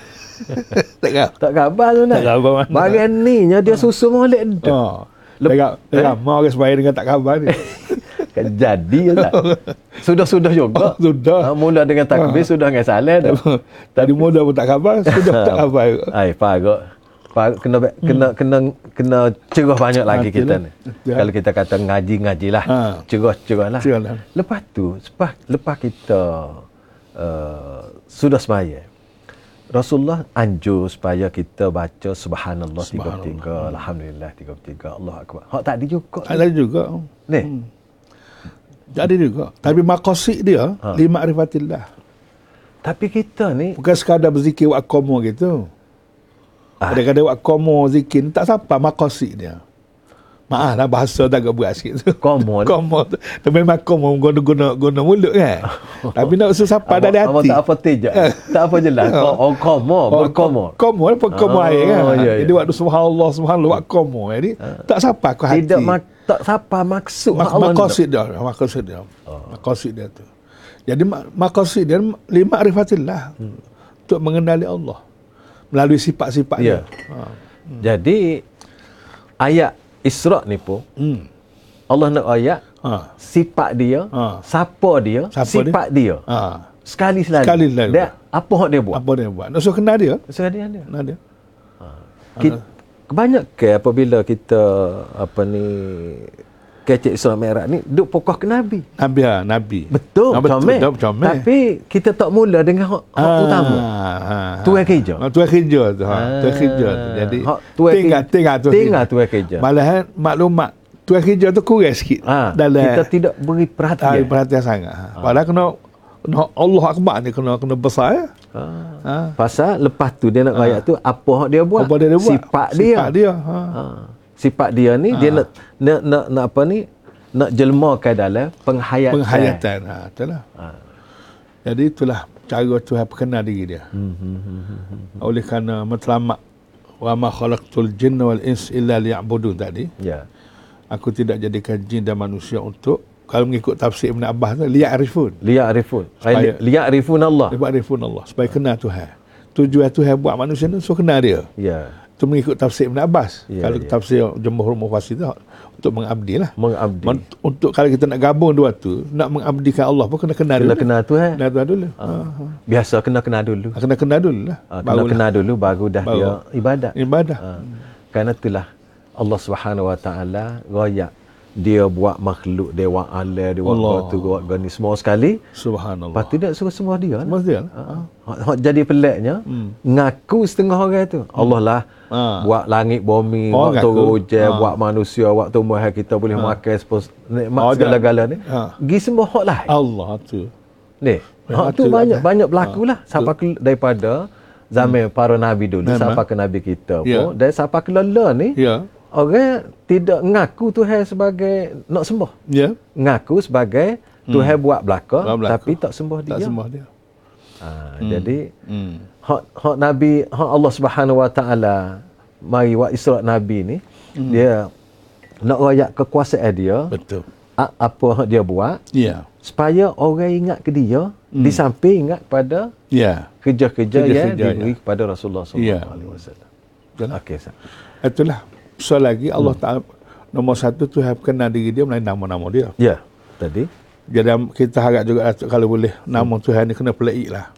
tak khabar. Tak khabar tu nak. Tak khabar mana. Bagian ni nya dia susu molek dah. Oh. Lep- Tak eh? lama orang sebaya dengan tak khabar ni. Kan jadi je tak. Sudah-sudah juga. Oh, sudah. Ha, mula dengan takbir sudah dengan salam dah. Tadi muda pun tak khabar, sudah tak khabar. Ai parok. Parok kena kena kena kena cerah banyak lagi Betul kita lah. ni. Betul. Kalau kita kata ngaji-ngajilah. Ha. Cerah-cerahlah. Cerahlah. Lepas tu, lepas lepas kita uh, sudah semaya. Rasulullah anjur supaya kita baca subhanallah tiga puluh tiga, alhamdulillah tiga puluh tiga, Allahu akbar. Hak tak ada juga. Ada juga. Ni. Ada juga. Tapi maqasid dia Ha. li ma'rifatillah. Tapi kita ni Bukan sekadar berzikir wa qamu gitu. Ah. Kadang-kadang wa qamu zikir ni tak sampai maqasid dia. Maaf lah bahasa tak agak berat sikit tu. Qamu ni. Qamu tu. Tapi memang qamu guna guna guna mulut kan. Tapi nak usul sampai dari Apa hati. tak apa tejak. Tak apa jelas. Oh, qamu, berqamu. Qamu lah pun qamu Oh, air kan. ya, ya. Jadi waktu subhanallah subhanallah wa qamu jadi tak sampai ke hati. Tidak mak, tak siapa maksud Mak- Allah ni. Maqasid dia, maqasid dia. Maqasid dia tu. Jadi mak- maqasid dia lima ma'rifatillah. Hmm. Untuk mengenali Allah melalui sifat-sifat Ya. dia. Ha. Jadi ayat Isra' ni pun Hmm. Allah nak ayat Ha. sifat dia, Ha. siapa dia, Siapa sifat dia. Ha. Sekali selalu. Sekali selalu. Dia apa hak dia buat? Apa dia buat? Nak suruh kenal dia. Sekali dia. Kenal dia. Kita, kebanyakan apabila kita apa ni kecek Isra Mi'raj ni duk pokok ke Nabi. Nabi ha, Nabi. Betul, ha, betul, comel. betul, comel. Tapi kita tak mula dengan hak, hak Ah, utama. ha, Tuai kerja. Ha, tuai kerja tu. Ha. Ah. Tuai kerja tu. Jadi Hak tuai tinggal kerja. tinggal tuai Tinggal kerja. tuai kerja. Malahan maklumat tuai kerja tu kurang sikit. Ha, dalam kita tidak beri tak perhatian. perhatian sangat. Ha. Padahal kena kena Allah Akbar ni kena kena besar ya. Ha. Ha. Pasal lepas tu dia nak ayat tu apa hak dia buat? Apa dia, dia buat? Sifat dia. Sifat dia. Ha. Ha. Sifat dia ni dia nak nak nak, nak apa ni? Nak jelmakan dalam penghayatan. Penghayatan. Ha, itulah. Ha. Jadi itulah cara Tuhan perkenal diri dia. Hmm, hmm, hmm, hmm, hmm. Oleh kerana matlamat wa ma khalaqtul jinna wal ins illa liya'budun tadi. Ya. Aku tidak jadikan jin dan manusia untuk, kalau mengikut tafsir Ibn Abbas tu, liya'rifun. Liya'rifun. Supaya- Liya'rifun Allah. Liya'rifun Allah. Supaya kenal Tuhan. Tujuan Tuhan buat manusia ni suruh kenal dia. Ya. Itu mengikut tafsir Ibn Abbas. Ya, Kalau ya. tafsir Jumhur Mufassir tu untuk mengabdi lah. Mengabdi. Men- Untuk kalau kita nak gabung dua tu, nak mengabdikan Allah pun kena kenal Kena dulu. kenal Tuhan. Kenal Tuhan dulu. Ha. Biasa kena kenal dulu. Ha. Kena kenal dulu lah. Ha, kena kenal dulu baru dah Baru. dia ibadat. Ibadah. Ha. Kerana itulah Allah Subhanahu Wa Taala royak dia buat makhluk, dia buat alam, dia buat Allah. batu, buat gani semua sekali. Subhanallah. Lepas tu dia suruh semua dia lah. Semua dia lah. Ha. Hak- hak jadi peliknya, Hmm. ngaku setengah orang tu. Allah lah Ha. buat langit bumi, Oh, buat ngaku. turun hujan, Ha. buat manusia, buat tumbuhan kita boleh makan sepos nikmat Oh, segala-gala ni. Ha. Gi semua hak lah. Allah tu. Ni. Memang Hak tu tu banyak lah. banyak berlaku lah. Sampai ke, daripada zaman para nabi dulu Memang. sampai ke nabi kita pun, Ya. dan sampai ke lala ni, Ya. orang tidak ngaku Tuhan sebagai nak sembah. Ya. Ngaku sebagai Tuhan buat belaka, Buat belaka. tapi tak sembah dia. Tak sembah dia. Ha, Jadi Hmm. hak hak nabi, hak Allah Subhanahu Wa Taala mari buat Isra nabi ni, Hmm. dia nak royak kekuasaan dia, Betul. a- apa hak dia buat Ya. supaya orang ingat ke dia, di samping ingat pada Ya. kerja-kerja yang Kerja-kerja, diberi kepada Rasulullah Ya. sallallahu alaihi wasallam. Betul. Okey, Ustaz. Itulah. Soal lagi Allah Taala nombor satu tu kenal diri dia melalui nama-nama dia. Ya, tadi. Jadi kita harap juga kalau boleh nama Tuhan ni kena pelik lah.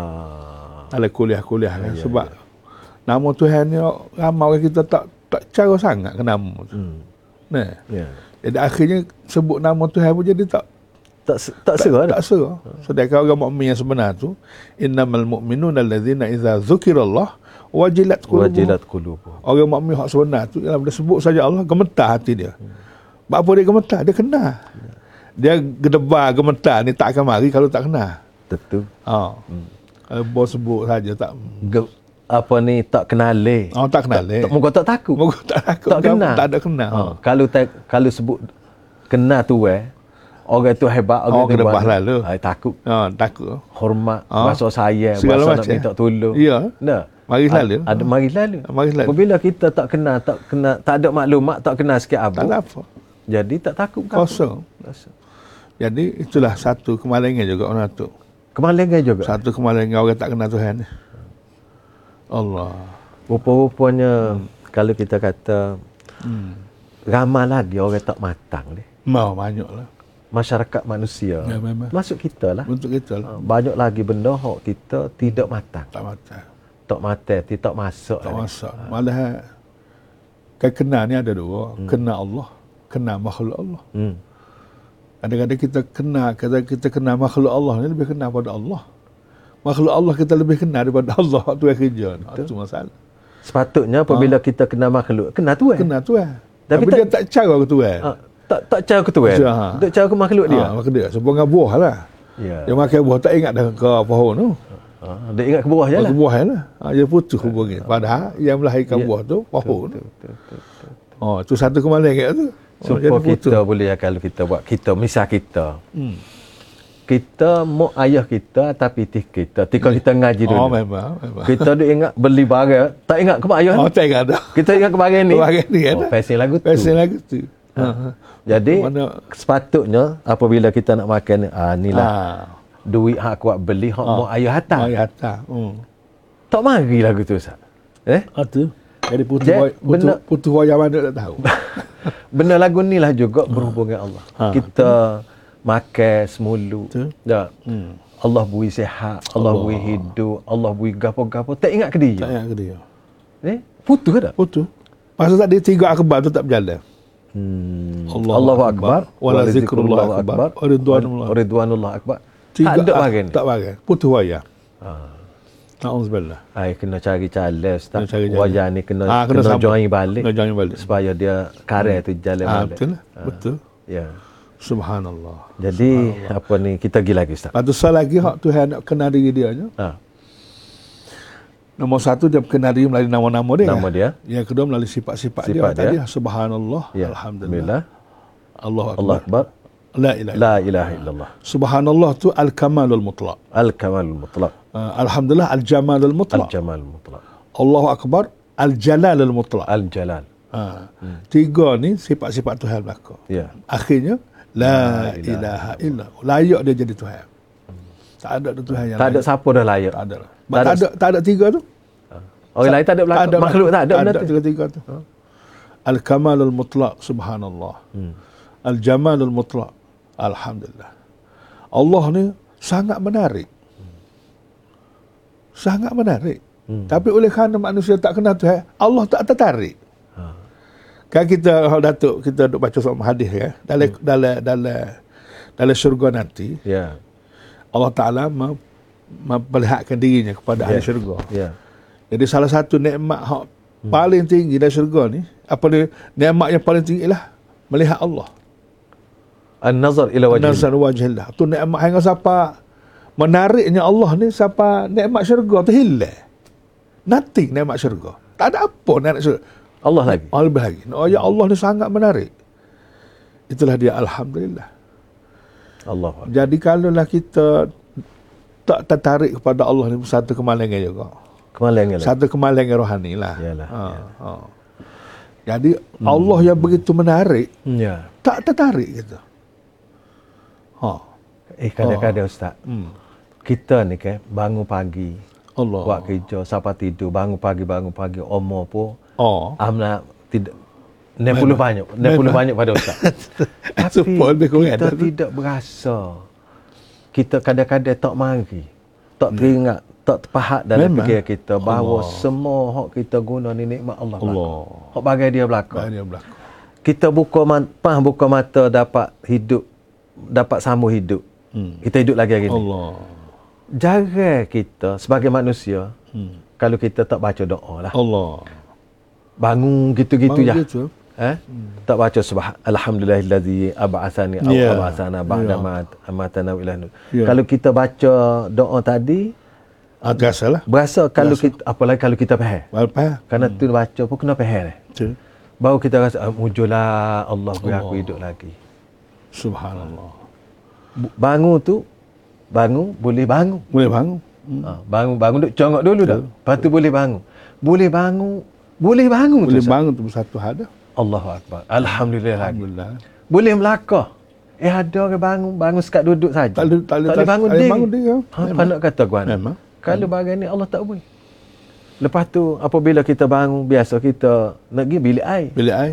Ah, Dalam kuliah-kuliah kan. Ya, Sebab nama Tuhan ni ramai orang kita tak tak cara sangat ke nama tu. hmm. Nah. Ya. Jadi akhirnya sebut nama Tuhan pun jadi tak Tak se- tak serah dah. tak serah. Sedangkan orang mukmin yang sebenar tu innamal mu'minuna allazina idza dzukirallah wajilat qulubuhum. Wajilat qulubuhum. Orang mukmin hak sebenar tu ialah bila sebut saja Allah gemetar hati dia. Hmm. Apa dia gemetar? Dia kenal. Dia gedebar gemetar ni tak akan mari kalau tak kenal. Tentu. Ha. Hmm. Kalau bos sebut saja tak Ge- apa ni tak kenal oh, tak kenal eh. Tak, muka tak takut. Moga tak takut. tak kenal. Tak ada kenal. Ha, kalau tak, kalau sebut kenal tu eh, orang tu hebat, orang Oh, tu gedebah hebat. lalu. Ai takut. Ha, takut. Hormat, Ha. rasa sayang, Segala rasa nak macam. minta tolong. Ya. Nah, Mari lalu. Ada mari lalu. Mari lalu. Apabila kita tak kenal, tak kenal, tak ada maklumat, tak kenal sikit apa. Tak ada apa. Jadi tak takut kan? Kosong. Kosong. Jadi itulah satu kemalangan juga orang tu. Kemalangan juga. Satu kemalangan orang tak kenal Tuhan. Allah. Rupa-rupanya hmm. kalau kita kata hmm. ramai lagi orang tak matang ni. Mau banyaklah. Masyarakat manusia. Ya, memang. Masuk kita lah. Untuk kita lah. Banyak lagi benda hak kita tidak matang. Tak matang. Tak matang, tidak masuk. Tak lagi. masuk. Malah kan kenal ni ada dua. Hmm. Kenal Allah, kenal makhluk Allah. Hmm. Kadang-kadang kita kenal, kadang kita kenal makhluk Allah ni lebih kenal pada Allah. Makhluk Allah kita lebih kenal daripada Allah. Itu yang kerja. Itu masalah. Sepatutnya apabila ha. kita kenal makhluk, kenal Tuhan. Kenal Tuhan. Tapi, Tapi tak, dia tak cara ke Tuhan. Ha. Tak tak cara ke Tuhan. Ha. Tak cara ke makhluk dia. Ha, makhluk dia. Sebab dengan buah lah. Ya. Dia makan buah tak ingat dah ke pohon tu. Ha. Dia ingat ke buah je lah. Ke buah je lah. Ha, dia putus hubungan. Padahal yang melahirkan ya. buah tu pohon tu. Oh, itu satu kemalangan tu. Oh, supaya kita boleh, kalau kita buat, kita, misal kita. Hmm. Kita mau ayah kita tapi tih kita. Tika kita ngaji dulu. Oh, memang, memang. Kita duk ingat beli barang. Tak ingat ke mak ayah Oh, ni? tak ingat dah. Kita ingat ke barang ni. Barang ni kan. Oh, fashion lagu tu. Fashion lagu tu. Ha. Ha. Jadi, mana? Sepatutnya apabila kita nak makan, ah, inilah ha. duit hak kuat beli, hak ha. mak ayah hantar. Mak ayah hantar. Hmm. Tak mari lagu tu, Ustaz. Eh? Ah, tu. Jadi putu boy, putu, putu wayang mana tak tahu. Benda lagu ni lah juga berhubung dengan Allah. Ha. Kita makan semulu. Tak. Hmm. Allah beri sihat, Allah, Allah beri hidup, Allah beri gapo-gapo. Tak ingat ke dia? Tak ingat ke dia. Eh? Putus ke tak? Putus. Masa tak dia tiga akbar tu tak berjalan. Hmm. Allah Allahu akbar, wala zikrullah akbar, wa ridwanullah. Ridwanullah akbar. Tak ada bagian. Tak bagian. Putus wayang. Ha. Na'udzubillah. Ai kena cari calon Ustaz. Cari wajah ni kena ha, kena, kena join balik. Kena join balik. Supaya dia karel hmm. tu jalan ha, balik. Betul. Ha. Betul. Ya. Subhanallah. Jadi Subhanallah. apa ni kita pergi lagi Ustaz. Lepas tu soal lagi hak Tuhan nak kenal diri dia je. Ha. Nombor satu dia kenal diri melalui nama-nama dia. Nama dia. Yang kedua melalui sifat-sifat dia. dia. Tadi Subhanallah. Ya. Alhamdulillah. Allahu akbar. Allah akbar. La ilaha La ilaha illallah. Subhanallah tu al-kamalul mutlaq. Al-kamalul mutlaq. Uh, Alhamdulillah al-jamalul mutlaq. Al-jamalul mutlaq. Allahu akbar al-jalalul mutlaq. Al-jalal. Ha. Hmm. Tiga ni sifat-sifat Tuhan belaka. Ya. Akhirnya la, la ilaha illallah. Layak dia jadi Tuhan. Hmm. Tak ada Tuhan yang tak layak. ada siapa dah layak. Tak ada. Tak, tak ada tak ada tiga tu. Orang lain tak ada belaka. Makhluk tak ada benda tu. Tiga-tiga tu. Ha. Al-kamalul mutlaq subhanallah. Hmm. Al-jamalul mutlaq. Alhamdulillah. Allah ni sangat menarik. Sangat menarik. Hmm. Tapi oleh kerana manusia tak kenal Tuhan, Allah tak tertarik. Ha. Kan kita Datuk kita duk baca soal hadis ya, dalam hmm. dalam dalam dalam syurga nanti. Ya. Yeah. Allah Taala memperlihatkan dirinya kepada yeah. ahli syurga. Ya. Yeah. Jadi salah satu nikmat hak hmm. paling tinggi dalam syurga ni, apa dia? Nikmat yang paling tinggi ialah melihat Allah. An-nazar ila wajhillah. An-nazar wajhillah. Tu nikmat hang siapa menariknya Allah ni siapa nikmat syurga tu hilang. Nothing nikmat syurga. Tak ada apa nikmat syurga. Allah lagi. Allah lebih lagi. Oh ya Allah ni sangat menarik. Itulah dia alhamdulillah. Allah. Jadi kalaulah kita tak tertarik kepada Allah ni satu kemalangan juga. Kemalangan. Satu kemalangan rohani lah. Yalah. Ha. Ya. Ha. Jadi hmm. Allah yang begitu menarik, ya. Tak tertarik gitu. Ha. Eh kadang-kadang oh. Ustaz. Hmm. Kita ni kan bangun pagi. Allah. Buat kerja, siapa tidur, bangun pagi, bangun pagi, umur pun. Oh. Amna tidak enam puluh banyak, enam puluh banyak pada Ustaz. Tapi kita ada tidak berasa. Kita kadang-kadang tak mari. Tak teringat, hmm. tak terpahat dalam fikir kita bahawa Allah. Semua hak kita guna ni nikmat Allah. Allah. Hak bagai dia belaka. Dia belaka. Kita buka mata, buka mata dapat hidup, dapat sambung hidup. Hmm. Kita hidup lagi hari ni. Allah. Jarang kita sebagai manusia hmm. kalau kita tak baca doa lah. Allah. Bangun gitu-gitu je. Gitu. Eh? Hmm. Tak baca subhan alhamdulillahillazi ab'atsani aw yeah. ab'atsana ba'da ma amatana ila nur. Yeah. Kalau kita baca doa tadi ah, biasalah. Berasa kalau Biasa. kita apalagi kalau kita faham. Faham. Kerana hmm. tu baca pun kena faham. Betul. Baru kita rasa ah, mujurlah Allah beri aku hidup lagi. Subhanallah. Bangun tu bangun boleh bangun. Boleh bangun. Hmm. Ha, bangun bangun duk congok dulu dah. Lepas tu boleh bangun. Boleh bangun. Boleh bangun Boleh tu. bangun tu satu hal dah. Allahu akbar. Alhamdulillah. Alhamdulillah. Boleh melakar. Eh ada orang bangun, bangun sekat duduk saja. Tak boleh tak boleh tak bangun dia. bangun dia. Ha, apa nak kata gua? Memang. Kalau bagian ni Allah tak boleh. Lepas tu apabila kita bangun biasa kita nak pergi bilik air. Bilik air.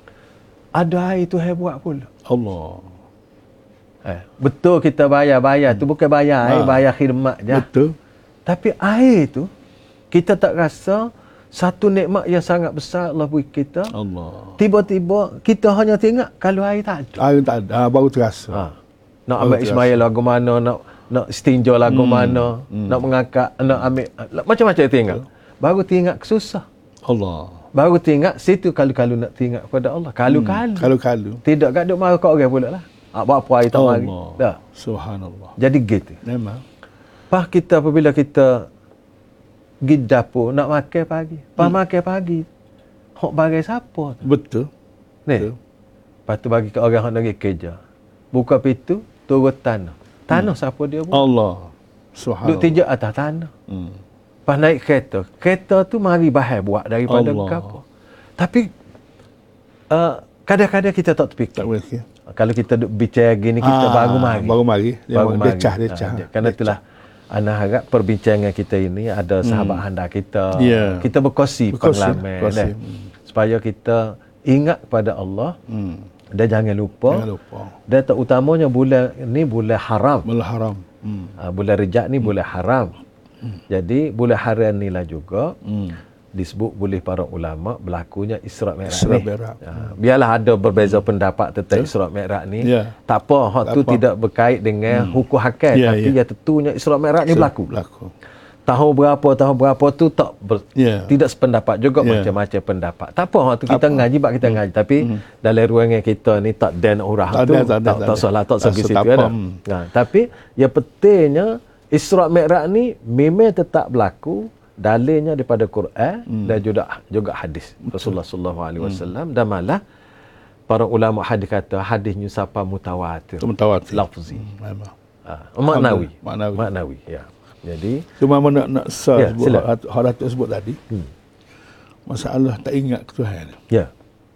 Ada air tu hai buat pula. Allah. Eh, betul kita bayar-bayar tu bukan bayar air, Ha. bayar khidmat je. Betul. Tapi air tu kita tak rasa satu nikmat yang sangat besar Allah beri kita. Allah. Tiba-tiba kita hanya tengok kalau air tak ada. Air tak ada, ah, baru terasa. Ha. Nak ambil Ismail lagu mana, nak nak istinja lagu Hmm. mana, Hmm. nak mengangkat, nak ambil macam-macam tengok. Baru tengok susah. Allah. Baru tengok situ kalau-kalau nak tengok kepada Allah. Kalau-kalau. Hmm. Kalau-kalau. Tidak kat duk marah kat orang pula lah. Ah, buat apa air tak mari. Allah. Dah. Subhanallah. Jadi gitu. Memang. Pas kita apabila kita pergi dapur nak makan pagi. Pas hmm. makan pagi. Hok bagai siapa tu? Betul. Ni. Betul. Lepas tu bagi ke orang yang nak kerja. Buka pintu, turun tanah. Tanah hmm. siapa dia buat? Allah. Subhanallah. Duk tijak atas tanah. Hmm. Pas naik kereta. Kereta tu mari bahaya buat daripada Allah. kapal. Tapi uh, kadang-kadang kita tak terfikir. Tak boleh fikir. Kalau kita duk bicara gini, kita Ah, baru mari. Baru mari. Dia Baru mari. decah, decah. Ha, kerana itulah, ana harap perbincangan kita ini ada sahabat hmm. handal kita. Yeah. Kita berkongsi Berkongsi, pengalaman. berkongsi. Eh, supaya kita ingat kepada Allah. Hmm. Dan jangan lupa. Jangan lupa. Dan terutamanya bulan ni bulan haram. Bulan haram. Hmm. Ha, bulan Rejab ni hmm. bulan haram. Hmm. Jadi bulan haram ni lah juga. Hmm. Disebut oleh para ulama berlakunya Isra' Mi'raj Isra' ni. Mi'raj. Ha, biarlah ada berbeza pendapat tentang Isra' Mi'raj ni. Ya. Tak apa, hak Tak tu apa. tidak berkait dengan hmm. hukum hakam, Ya, tapi ya. yang tentunya Isra' Mi'raj ni berlaku. Berlaku. Tahun berapa, tahun berapa tu tak ber, Ya. tidak sependapat juga, Ya. macam-macam pendapat. Tak apa, hak tu kita apa. ngaji bab kita Hmm. ngaji, tapi Hmm. dalam ruangan kita ni tak dan urah Tak tu, ada, tak ada, tak tak tak ada. salah, tak Tak segi situ setapa. kan. Hmm. Nah, tapi yang pentingnya Isra' Mi'raj ni memang tetap berlaku. Dalilnya daripada Quran hmm. dan juga juga hadis Rasulullah sallallahu alaihi wasallam, dan malah para ulama hadis kata hadisnya siapa mutawatir. Mutawatir. Lafzi. Hmm. Memang. Ha, maknawi. Maknawi. Maknawi, ya. Jadi Cuma mana nak sah Ya, sebut sila. hak hak Datuk sebut tadi. hmm. Masalah tak ingat ke Tuhan. ya.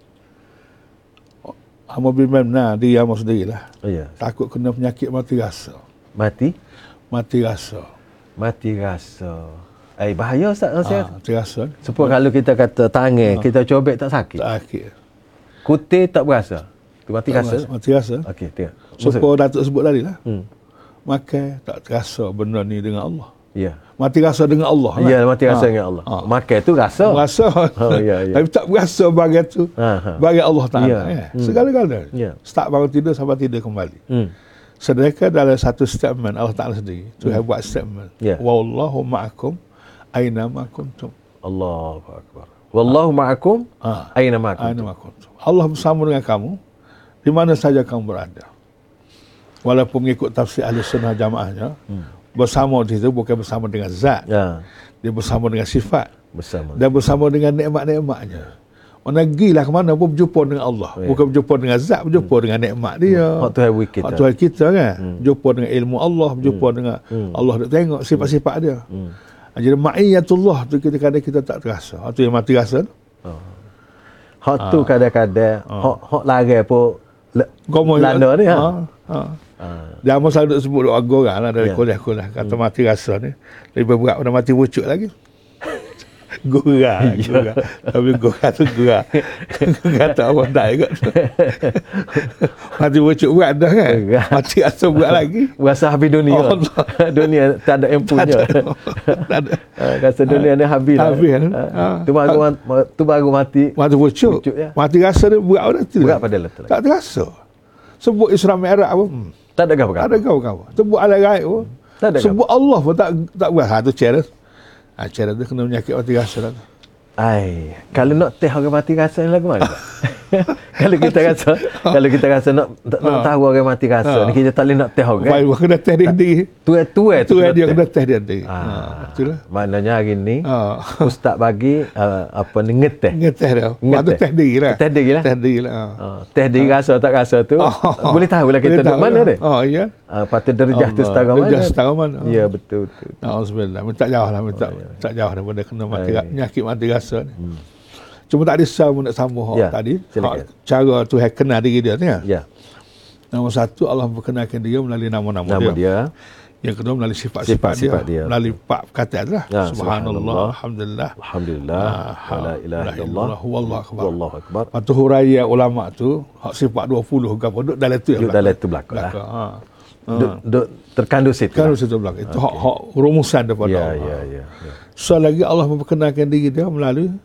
Hamba bimbang nah dia hamba sendirilah. Ya. Takut kena penyakit mati rasa. Mati Mati rasa. mati rasa. Eh bahaya Ustaz saya. Ah, mati rasa. Supaya kalau kita kata tangan kita cobek tak sakit. Tak akhir. Kutir tak berasa. Tu mati Tak rasa. rasa, Mati rasa. Okey, tengok. Supaya Datuk sebut tadi lah. Hmm. Makan tak terasa benda ni dengan Allah. Ya. Mati rasa dengan Allah lah. Ya, mati rasa Ah. dengan Allah. Ah. Makan tu rasa. Rasa. Oh, ya, ya. Tapi tak berasa bagai tu. Ha, ha. Bagi Allah Ta'ala. Ya. Ya. Hmm. Segala-galanya. Ya. Start bangun tidur sampai tidur kembali. Hmm. Sedangkan dalam satu statement Allah Ta'ala sendiri. Tuhan buat statement. Ya. Wallahu ma'akum aina ma kuntum. Allahu akbar. Wallahu ma'akum Ah. aina ma Aina kuntum. ma kuntum. Allah bersama dengan kamu di mana saja kamu berada. Walaupun mengikut tafsir ahli sunnah jamaahnya, hmm. bersama di situ bukan bersama dengan zat. Ya, Dia bersama dengan sifat. bersama. Dan bersama dengan nikmat-nikmatnya. Mana gilah ke mana pun berjumpa dengan Allah. Oh, ya. Bukan berjumpa dengan zat, berjumpa hmm. dengan nikmat dia. Hak Tuhan beri kita. Hak Tuhan kita kan. Hmm. Berjumpa dengan ilmu Allah, berjumpa Hmm. dengan Hmm. Allah nak tengok sifat-sifat dia. Hmm. Jadi ma'iyatullah tu kita kadang kita tak terasa. Hak tu yang mati rasa tu. Oh. Hak tu kadang-kadang hak hak lari pun Gomo landa ni ha. ha. ha. Ha. Dia amat selalu sebut doa orang lah dari Ya. kuliah-kuliah. Kata mati rasa ni. Lebih berat pada mati wujud lagi. Gurah. Gurah. Tapi gurah tu gurah. Kata apa tak ikut. Mati wujud berat dah kan. Berat. Mati rasa berat lagi. Rasa habis dunia. Allah. Dunia tak ada empunya. Tak ada. Ha, rasa dunia ni habis lah. Habis kan? Ha. Ha. Tu baru ma- tu baru mati. Mati wujud. Wujud, ya. Mati rasa dia berat pada tu. Berat pada letak. Tak terasa. Sebut Isra' Mi'raj pun. Hmm. Tak ada Tak apa-apa. ada kau-kau. Sebut alam gaib pun. Tak ada Sebut Allah pun tak tak berat. Ha tu cara. Ha cara tu kena penyakit mati rasa lah. Ai, kalau nak teh orang mati rasa ni lagu mana? Kalau kita rasa, kalau kita rasa nak nak, nak tahu orang mati rasa, Ha. ni kita tak boleh nak teh orang. Baik, kena test dia sendiri. Tua-tua Tu dia kena test dia sendiri. Ah, Ha, itulah. maknanya hari ni Ha. ustaz bagi uh, apa ni ngeteh. Ngeteh dia. Lepas tu Ngeteh. test diri lah. Test diri lah. Test diri lah. Ha. Uh, teh dia rasa tak rasa tu Oh. boleh tahu lah kita Boleh duduk tahu mana lah. dia. Oh, iya. Uh, patut derajah tu Allah. setara mana. Derajah setara mana. Ya, betul betul. Alhamdulillah. Minta jauh lah. Minta, Oh, ya. minta jauh daripada kena mati, Baik. penyakit mati rasa ni. Hmm. Cuma tak ada sama nak sambung Ya, hak tadi. silakan. Hak cara Tuhan kenal diri dia ni. Ya, Nombor satu, Allah memperkenalkan dia melalui nama-nama nama dia. dia. Yang kedua, melalui sifat-sifat Sifat-sifat dia. dia. Melalui empat perkataan lah. Ya, Subhanallah, subhanallah. Alhamdulillah. Alhamdulillah. Ah, La ilaha illallah. Wallahu akbar. Wallahu akbar. Lepas tu huraya ulama tu, hak sifat dua puluh ke apa, duduk dalam tu. Duduk dalam tu belakang lah. Ha. Duk, duk terkandung situ. Kan lah. situ belakang. Itu hak, hak rumusan daripada Ya, Allah. ya, ya, ya. So lagi Allah memperkenalkan diri dia melalui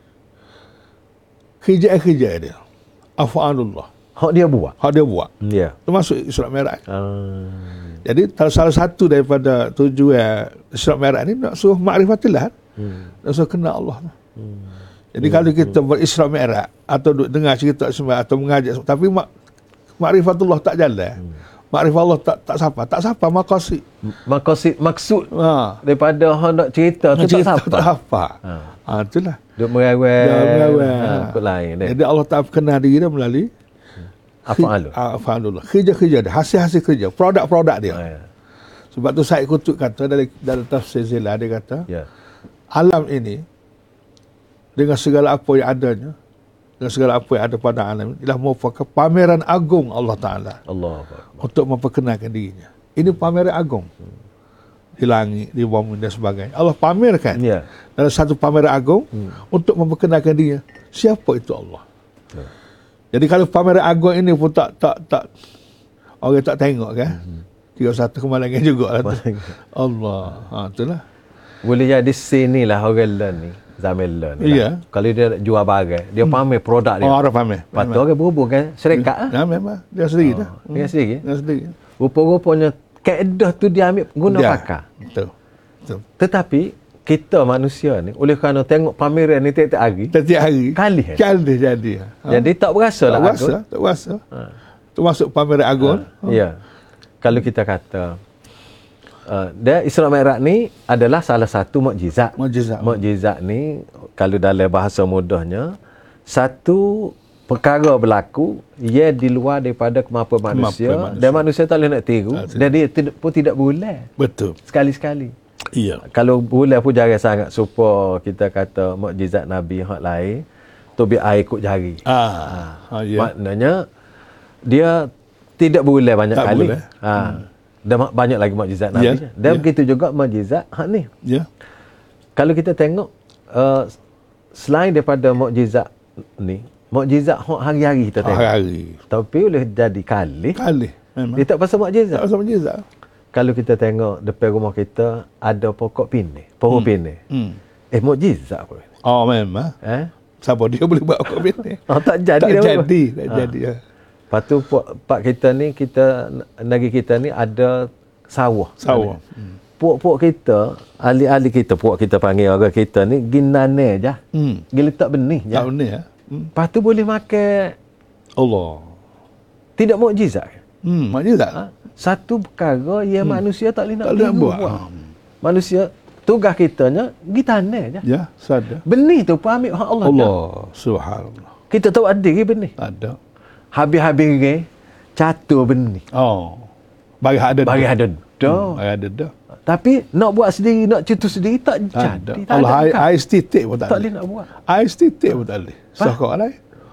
kerja-kerja dia. Afa'alullah. Hak dia buat. Hak dia buat. Ya. Termasuk Isra' Mi'raj. Ah. Jadi salah satu daripada tujuan Isra' Mi'raj ni nak suruh ma'rifatillah. Hmm. Nak suruh kenal Allah. Hmm. Jadi hmm. kalau kita berisra' Mi'raj atau duk dengar cerita semua atau mengajak tapi mak ma'rifatullah tak jalan. Hmm. Makrifat Allah tak tak siapa, tak siapa maqasid. Maksud maksud Ha. daripada hang nak cerita tu tak Cerita siapa. tak apa. Ha. Ha, itulah. Duk merawat. Dia merawat. Ha, apa lain dia. Jadi Allah tak kenal diri dia melalui Afa'alu. Afa'alullah. Kerja-kerja dia, hasil-hasil kerja, produk-produk dia. Ha, ya. Sebab tu Said Qutb kata dalam dalam tafsir Zilah, dia kata Ya. alam ini dengan segala apa yang adanya, dengan segala apa yang ada pada alam ini ialah merupakan pameran agung Allah Ta'ala Allah Akbar. untuk memperkenalkan dirinya. Ini pameran agung. Di langit, di bumi dan sebagainya. Allah pamerkan Ya. dalam satu pameran agung hmm. untuk memperkenalkan dirinya. Siapa itu Allah? Ya. Jadi kalau pameran agung ini pun tak tak tak orang tak tengok kan? Hmm. Tiga satu kemalangan juga lah tu. Allah. Ha, itulah. Boleh jadi sini lah orang learn ni. Zaman learn ni. Iya. Lah. Kalau dia jual barang, dia pamer produk dia. Oh, orang pamer. Lepas tu orang berhubung kan syarikat ah. Nah, memang. Dia sendiri dah. Oh, dia sendiri. Dia sendiri. Rupa-rupanya kaedah tu dia ambil guna Dia. pakar. Betul. Betul. Tetapi kita manusia ni oleh kerana tengok pameran ni tiap-tiap hari, Setiap hari. Kali, eh? Kali jadi. Ha? jadi tak berasa tak lah rasa. agung. Tak rasa. Ha. Tu masuk pameran agung. Ha. Ya. Kalau kita kata uh, dia Isra' Mi'raj ni adalah salah satu mukjizat. Mukjizat. Mukjizat ni kalau dalam bahasa mudahnya satu perkara berlaku ia di luar daripada kemampuan manusia, Kemampuan manusia. dan manusia tak boleh nak tiru Tak dan dia tidak, pun tidak boleh Betul. sekali-sekali. Iya. Kalau boleh pun jarang sangat supaya kita kata mukjizat Nabi hak lain tu biar air ikut jari. Ah. Ha, ya. Maknanya dia tidak boleh banyak Tak kali. boleh. Ha. Dan mak- banyak lagi mukjizat Nabi. Ya, Dan ya. begitu juga mukjizat hak ni. Ya. Kalau kita tengok uh, selain daripada mukjizat ni, mukjizat hak hari-hari kita tengok. Hari-hari. Tapi boleh jadi kali. Kali. Memang. Dia tak pasal Tak mukjizat. rasa mukjizat. Kalau kita tengok depan rumah kita ada pokok pineh, pohon hmm. pineh. Hmm. Eh mukjizat pun. Oh, memang. Eh? Siapa dia boleh buat apa ni? Oh, tak jadi Tak dah apa. jadi. Tak Ha. jadi. Ya. Lepas tu pak, pak kita ni, kita negeri kita ni ada sawah. Sawah. Hmm. Puak-puak kita, ahli-ahli kita, puak kita panggil orang kita ni, ginane je. Hmm. Gi letak benih je. Tak benar ya. Hmm. Lepas tu boleh makan, Allah. tidak mukjizat. Hmm, mukjizat. Ha? Satu perkara yang hmm. manusia tak boleh nak Tak boleh nak tiru buat. buat. Manusia, tugas kitanya, gi tanah je. Ya, sadar. Benih tu pun ambil hak Allah. Allah, dah. subhanallah. Kita tahu ada ke benih. Tak ada. Habis-habis ke, catur benih. Oh. Bagi ada. Bagi dah. ada dah. Hmm, bagi ada dah. Tapi nak buat sendiri, nak cetus sendiri tak Tak ada. jadi. Tak Allah, ada air, bukan. air setitik pun tak Tak boleh. boleh nak buat. Air setitik pun tak boleh. Sokok lain.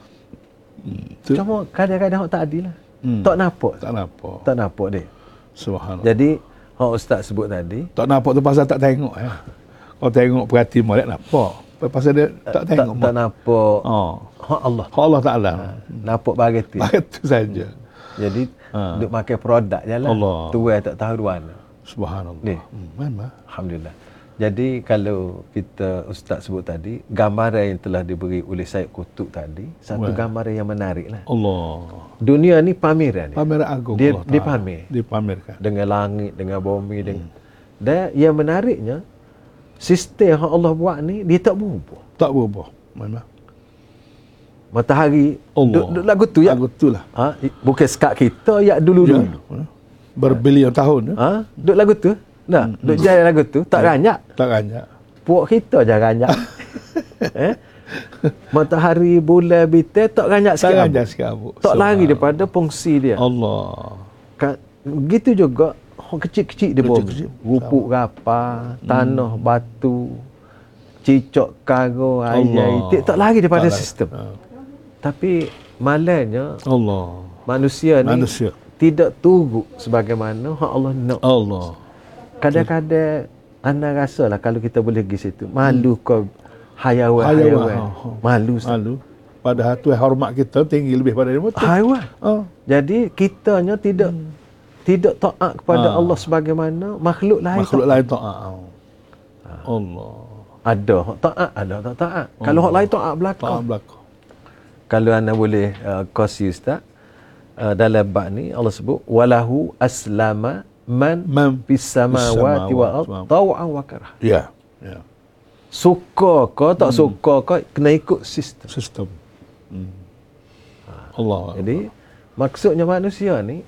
Hmm. Tu. Cuma kadang-kadang hak tak adil lah. Hmm. Tak nampak. Tak nampak. Tak nampak dia. Subhanallah. Jadi, hak ustaz sebut tadi, Tak nampak tu pasal tak tengok ya. Kalau tengok perhati molek nampak. Pasal dia tak tak, tengok. tak nampak Oh. hak Allah. Hak Allah Ta'ala. Nampak bagetin. Itu saja. Jadi, Ha. duk makan produk je lah. Allah. Tuai tak tahu mana. Subhanallah. Ni. Hmm, memang. Alhamdulillah. Jadi, kalau kita ustaz sebut tadi, gambaran yang telah diberi oleh Said Qutb tadi, satu Wah. gambaran yang menarik lah. Allah. Dunia ni pameran ni. Pameran agung Dia, Allah dia Ta'ala. pamer. Dipamerkan. Dengan langit, dengan bumi. Hmm. Dengan, dan yang menariknya, sistem yang Allah buat ni, dia tak berubah. Tak berubah. Memang. Matahari Allah. duk, duk lagu tu ya. Lagu tu lah. Ha, bukan sekat kita ya dulu-dulu. Ya. Berbilion tahun. Ya. Ha, duk lagu tu. Nah, hmm. duk jalan lagu tu tak ranyak. Tak ranyak. Puak kita je ranyak. eh? Matahari, bulan, bintang tak ranyak sikit. Tak ranyak sikit abuk. Tak lari daripada fungsi dia. Allah. Kan, begitu juga orang kecil-kecil di bawah. Rupuk rapa, tanah, hmm. batu, cicak karo, air, itik tak lari daripada tak sistem. Ha. Tapi malangnya Allah. Manusia ni manusia. tidak turut sebagaimana hak Allah nak. Allah. Kadang-kadang anda rasalah kalau kita boleh pergi situ, malu kau hayawan-hayawan. Malu. Malu. Padahal tu hormat kita tinggi lebih pada dia. Haiwan. Oh. Jadi kitanya tidak hmm. tidak taat kepada ha. Allah sebagaimana makhluk lain. Makhluk lain taat. Ha. Allah. Ada hak taat, ada tak taat. Allah. Kalau hak lain taat belakang. Taat belakang. Kalau anda boleh uh, kongsi Ustaz, uh, dalam bab ni Allah sebut walahu aslama man, man fis samawati wa ard taw'an wa karha. Ya. Ya. Suka ke tak hmm. suka ke kena ikut sistem. Sistem. Hmm. Allah. Jadi maksudnya manusia ni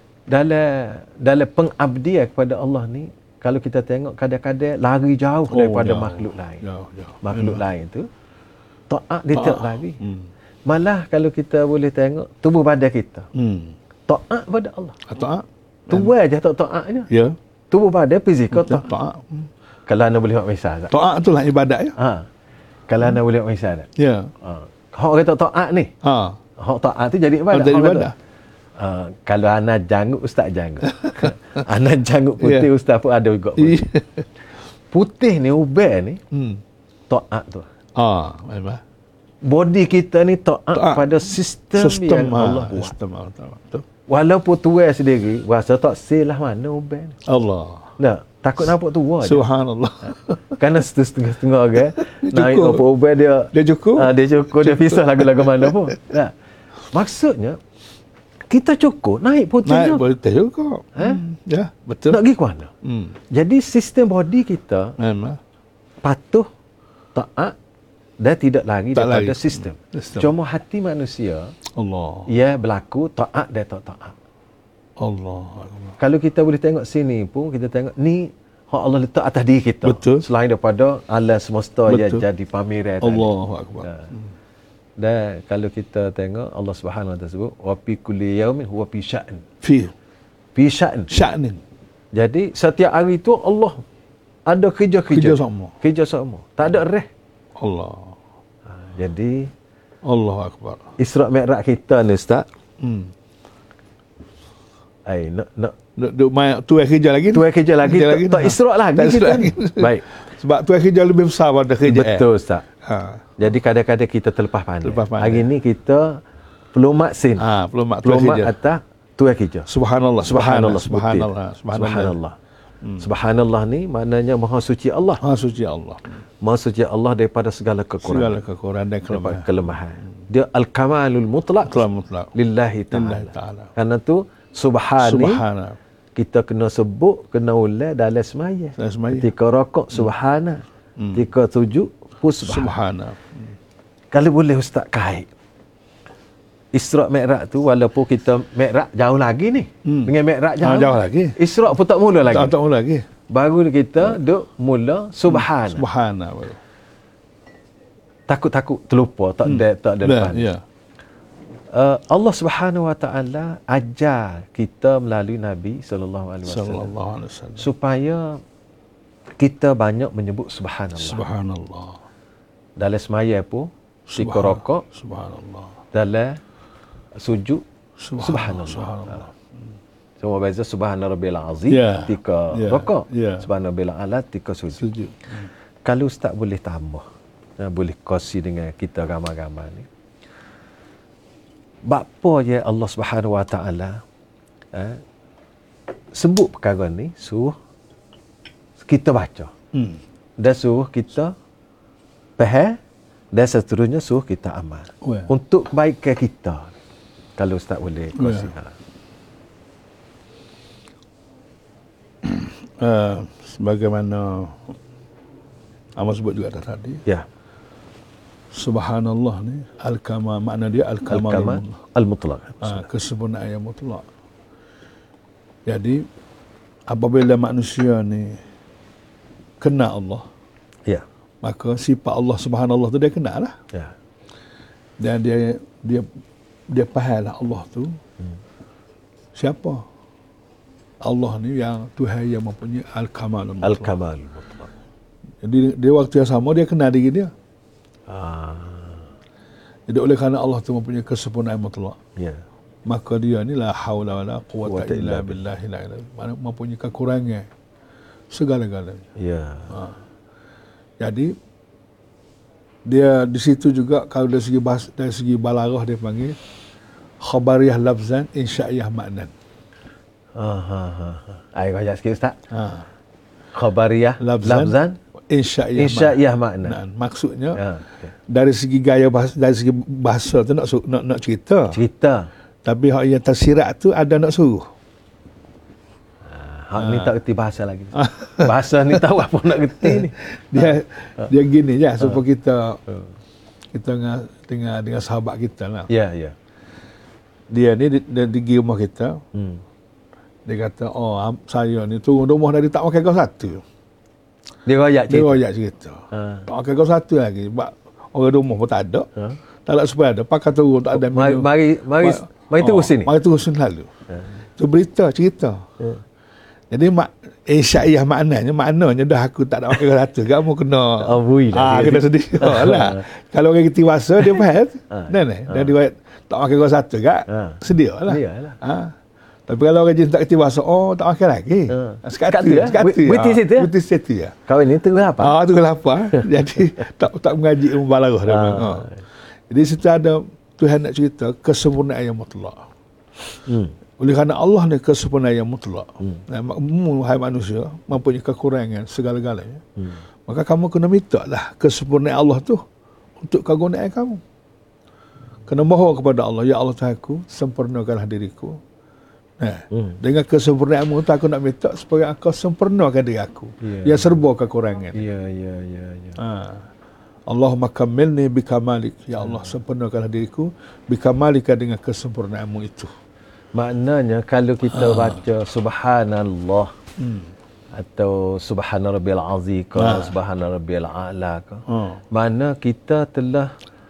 dalam dalam pengabdian kepada Allah ni, kalau kita tengok kadang-kadang lari jauh oh, daripada jauh. makhluk lain. Jauh, jauh. Makhluk Memang. lain tu taat dia tak lari. Hmm. Malah kalau kita boleh tengok tubuh badan kita. Hmm. Taat pada Allah. Taat. Tubuh aja tak taatnya. Ya. Tubuh badan fizikal taat. Taat. Hmm. Kalau anda boleh buat misal. Taat itulah ibadat ya. Ha. Kalau anda boleh buat misal. Ya. Ha. Hak kata taat ni. Ha. Hak taat tu jadi ibadat. Jadi ibadat. Uh, kalau anak janggut, ustaz janggut. Anak janggut putih, yeah. ustaz pun ada juga. Putih, putih ni, ubah ni, hmm. taat tu. Ah, memang. Body kita ni taat, taat. pada sistem, sistem yang ha, Allah buat. Sistem Allah. Walaupun tua sendiri, rasa tak silah mana ubah ni. Allah. Nah, takut nampak tua je. Subhanallah. Kerana setengah-setengah kan, naik apa ubah dia. Dia cukup. Uh, dia cukup, dia pisah lagu-lagu mana pun. Nah, maksudnya, kita cukup naik putih naik juga. Naik putih juga. Eh? Hmm. Ya, betul. Nak pergi ke mana? Hmm. Jadi sistem body kita memang patuh, taat dan tidak lari tak daripada lari. Sistem. sistem. Cuma hati manusia, Allah. ia berlaku taat dan tak taat. Allah. Kalau kita boleh tengok sini pun, kita tengok ni hak Allah letak atas diri kita. Betul. Selain daripada alam semesta yang jadi pameran tadi. Allahu akbar. Nah. Hmm. Dan kalau kita tengok Allah Subhanahu wa taala sebut wa fi kulli yaumin huwa fi sya'n. Fi fi sya'n. Sya'nin. Jadi setiap hari tu Allah ada kerja-kerja. Kerja sama. Kerja sama. Tak ada rest. Allah. Ha, jadi Allahu akbar. Isra' Mi'raj kita ni Ustaz. Hmm. Ai nak nak duk mai tu kerja lagi. Tu kerja lagi. Tak, lagi tak Isra' lagi tak kita. Lagi. Baik. Sebab tu kerja lebih besar pada kerja. Betul Ustaz. Ha. Jadi kadang-kadang kita terlepas pandai. Terlepas pandai. Hari ni kita pelumat sin. Ha, pelumat pelumat atas tu kerja. Subhanallah. Subhanallah. Subhanallah. Subhanallah. Subhanallah. Hmm. Subhanallah ni maknanya maha suci Allah. Maha suci Allah. Maha suci Allah daripada segala kekurangan. Segala kekurangan dan kelemahan. kelemahan. Dia al-kamalul mutlaq. Mutlaq. Lillahi ta'ala. ta'ala. Karena tu subhani. Subhana. Kita kena sebut, kena ulang dalam semaya. Ketika rokok subhana. Hmm. Ketika sujud pun subhana. subhana. Hmm. Kalau boleh Ustaz kait. Isra' Mi'raj tu walaupun kita Mi'raj jauh lagi ni. Hmm. Dengan Mi'raj jauh. Ha, jauh lagi. Isra' pun tak mula lagi. Tak, tak mula lagi. Baru kita duk mula subhana. Hmm. Subhana. Takut-takut terlupa, tak ada hmm. tak ada depan. Ya. Uh, Allah Subhanahu wa taala ajar kita melalui Nabi sallallahu alaihi wasallam supaya kita banyak menyebut subhanallah. Subhanallah. Dalam semaya pun, ketika rokok, subhanallah. Dalam sujud, subhanallah. Subhanallah. Semua beza subhana rabbil azim yeah. ketika yeah. rokok, yeah. subhana rabbil a'la ketika sujud. sujud. Hmm. Kalau Ustaz boleh tambah, boleh kongsi dengan kita ramai-ramai ni. Bapa je Allah Subhanahu wa taala eh, sebut perkara ni, suruh kita baca. Hmm. Dan suruh kita faham dan seterusnya suruh kita amal. Well. Untuk kebaikan kita. Kalau Ustaz boleh kongsi. Well. Uh, sebagaimana Amal sebut juga tadi. Ya. Subhanallah ni al-kamal, makna dia al-kamal Al-kamal al-mutlaq. ha, kesempurnaan yang mutlak. Jadi apabila manusia ni kenal Allah, Ya. maka sifat Allah Subhanallah tu dia kenal lah. Ya. Dan dia dia dia faham lah Allah tu hmm. siapa. Allah ni yang Tuhan yang mempunyai al-kamal al-mutlaq. Al-kamal al-mutlaq. Jadi dia waktu yang sama dia kenal diri dia. Ah. Jadi oleh kerana Allah tu mempunyai kesempurnaan mutlak, Ya. maka dia ni la haula wala quwwata Quwwata illa illa billahi la ilaha illa, mempunyai kekurangan segala-galanya. Ya. Ha. Jadi dia di situ juga kalau dari segi bahas, dari segi balarah dia panggil khabariyah lafzan insya'iyah maknan. Ha ha ha. Ai kau sikit Ustaz. Ha. Khabariyah Lafzan, lafzan insya'iyah insya'iyah makna. maknan. Maksudnya Ya. Okay. dari segi gaya bahasa, dari segi bahasa tu nak su- nak, nak cerita. Cerita. Tapi hak yang tersirat tu ada nak suruh. Hak ni tak reti bahasa lagi. Bahasa ni tahu apa nak reti ni. Dia dia gini je supaya kita kita dengan dengan dengan sahabat kita lah. Ya, ya. Dia ni dia pergi rumah kita. Hmm. Dia kata, oh am- saya ni turun rumah dari tak makan kau satu. Dia royak Dia cerita. royak cerita. Ha. Tak makan kau satu lagi. Sebab orang rumah pun tak ada. Ha. Tak ada supaya ada. Pakai turun tak ada Mari minum. mari mari, mari Oh, terus sini. Mari terus lalu. Ha. Itu berita, cerita. Ha. Jadi mak insya'iyah maknanya, maknanya dah aku tak nak makan kau satu. Kamu kena Oh, bui lah. Ah, kena sedih. Oh, lah. Kalau orang kita wasa dia faham. Ha. Nah, nah. Dia riwayat tak makan kau satu kak. Ha. Sedia lah. Sedia lah. Ha. Tapi kalau orang jenis tak kerti wasa, oh tak makan lagi. Ha. Sekatu. Sekatu, ya? Sekatu. Berhenti ah. situ, ya? Berhenti situ ya. Kau ni terus apa? Ah, tu lapar. Jadi tak tak mengaji ilmu balaghah dia. Ah. Ha. Jadi situ ada Tuhan nak cerita kesempurnaan yang mutlak. Hmm. Oleh kerana Allah ni kesempurnaan yang mutlak. Hmm. Hmm. Hai manusia mempunyai kekurangan segala-galanya. Hmm. Maka kamu kena minta lah kesempurnaan Allah tu untuk kegunaan kamu. Kena mohon kepada Allah, ya Allah Tuhanku, sempurnakanlah diriku. Nah, Hmm. dengan kesempurnaanmu tu aku nak minta supaya engkau sempurnakan diri aku. Ya. Yang serba kekurangan. Ya, ya, ya, ya. Ha. Allahumma kammilni bikamalik. Ya Allah, sempurnakanlah diriku bikamalika dengan kesempurnaanmu itu. Maknanya kalau kita baca subhanallah Hmm. atau subhana rabbiyal azim ke Ha. subhana rabbiyal a'la ke, Ha. mana kita telah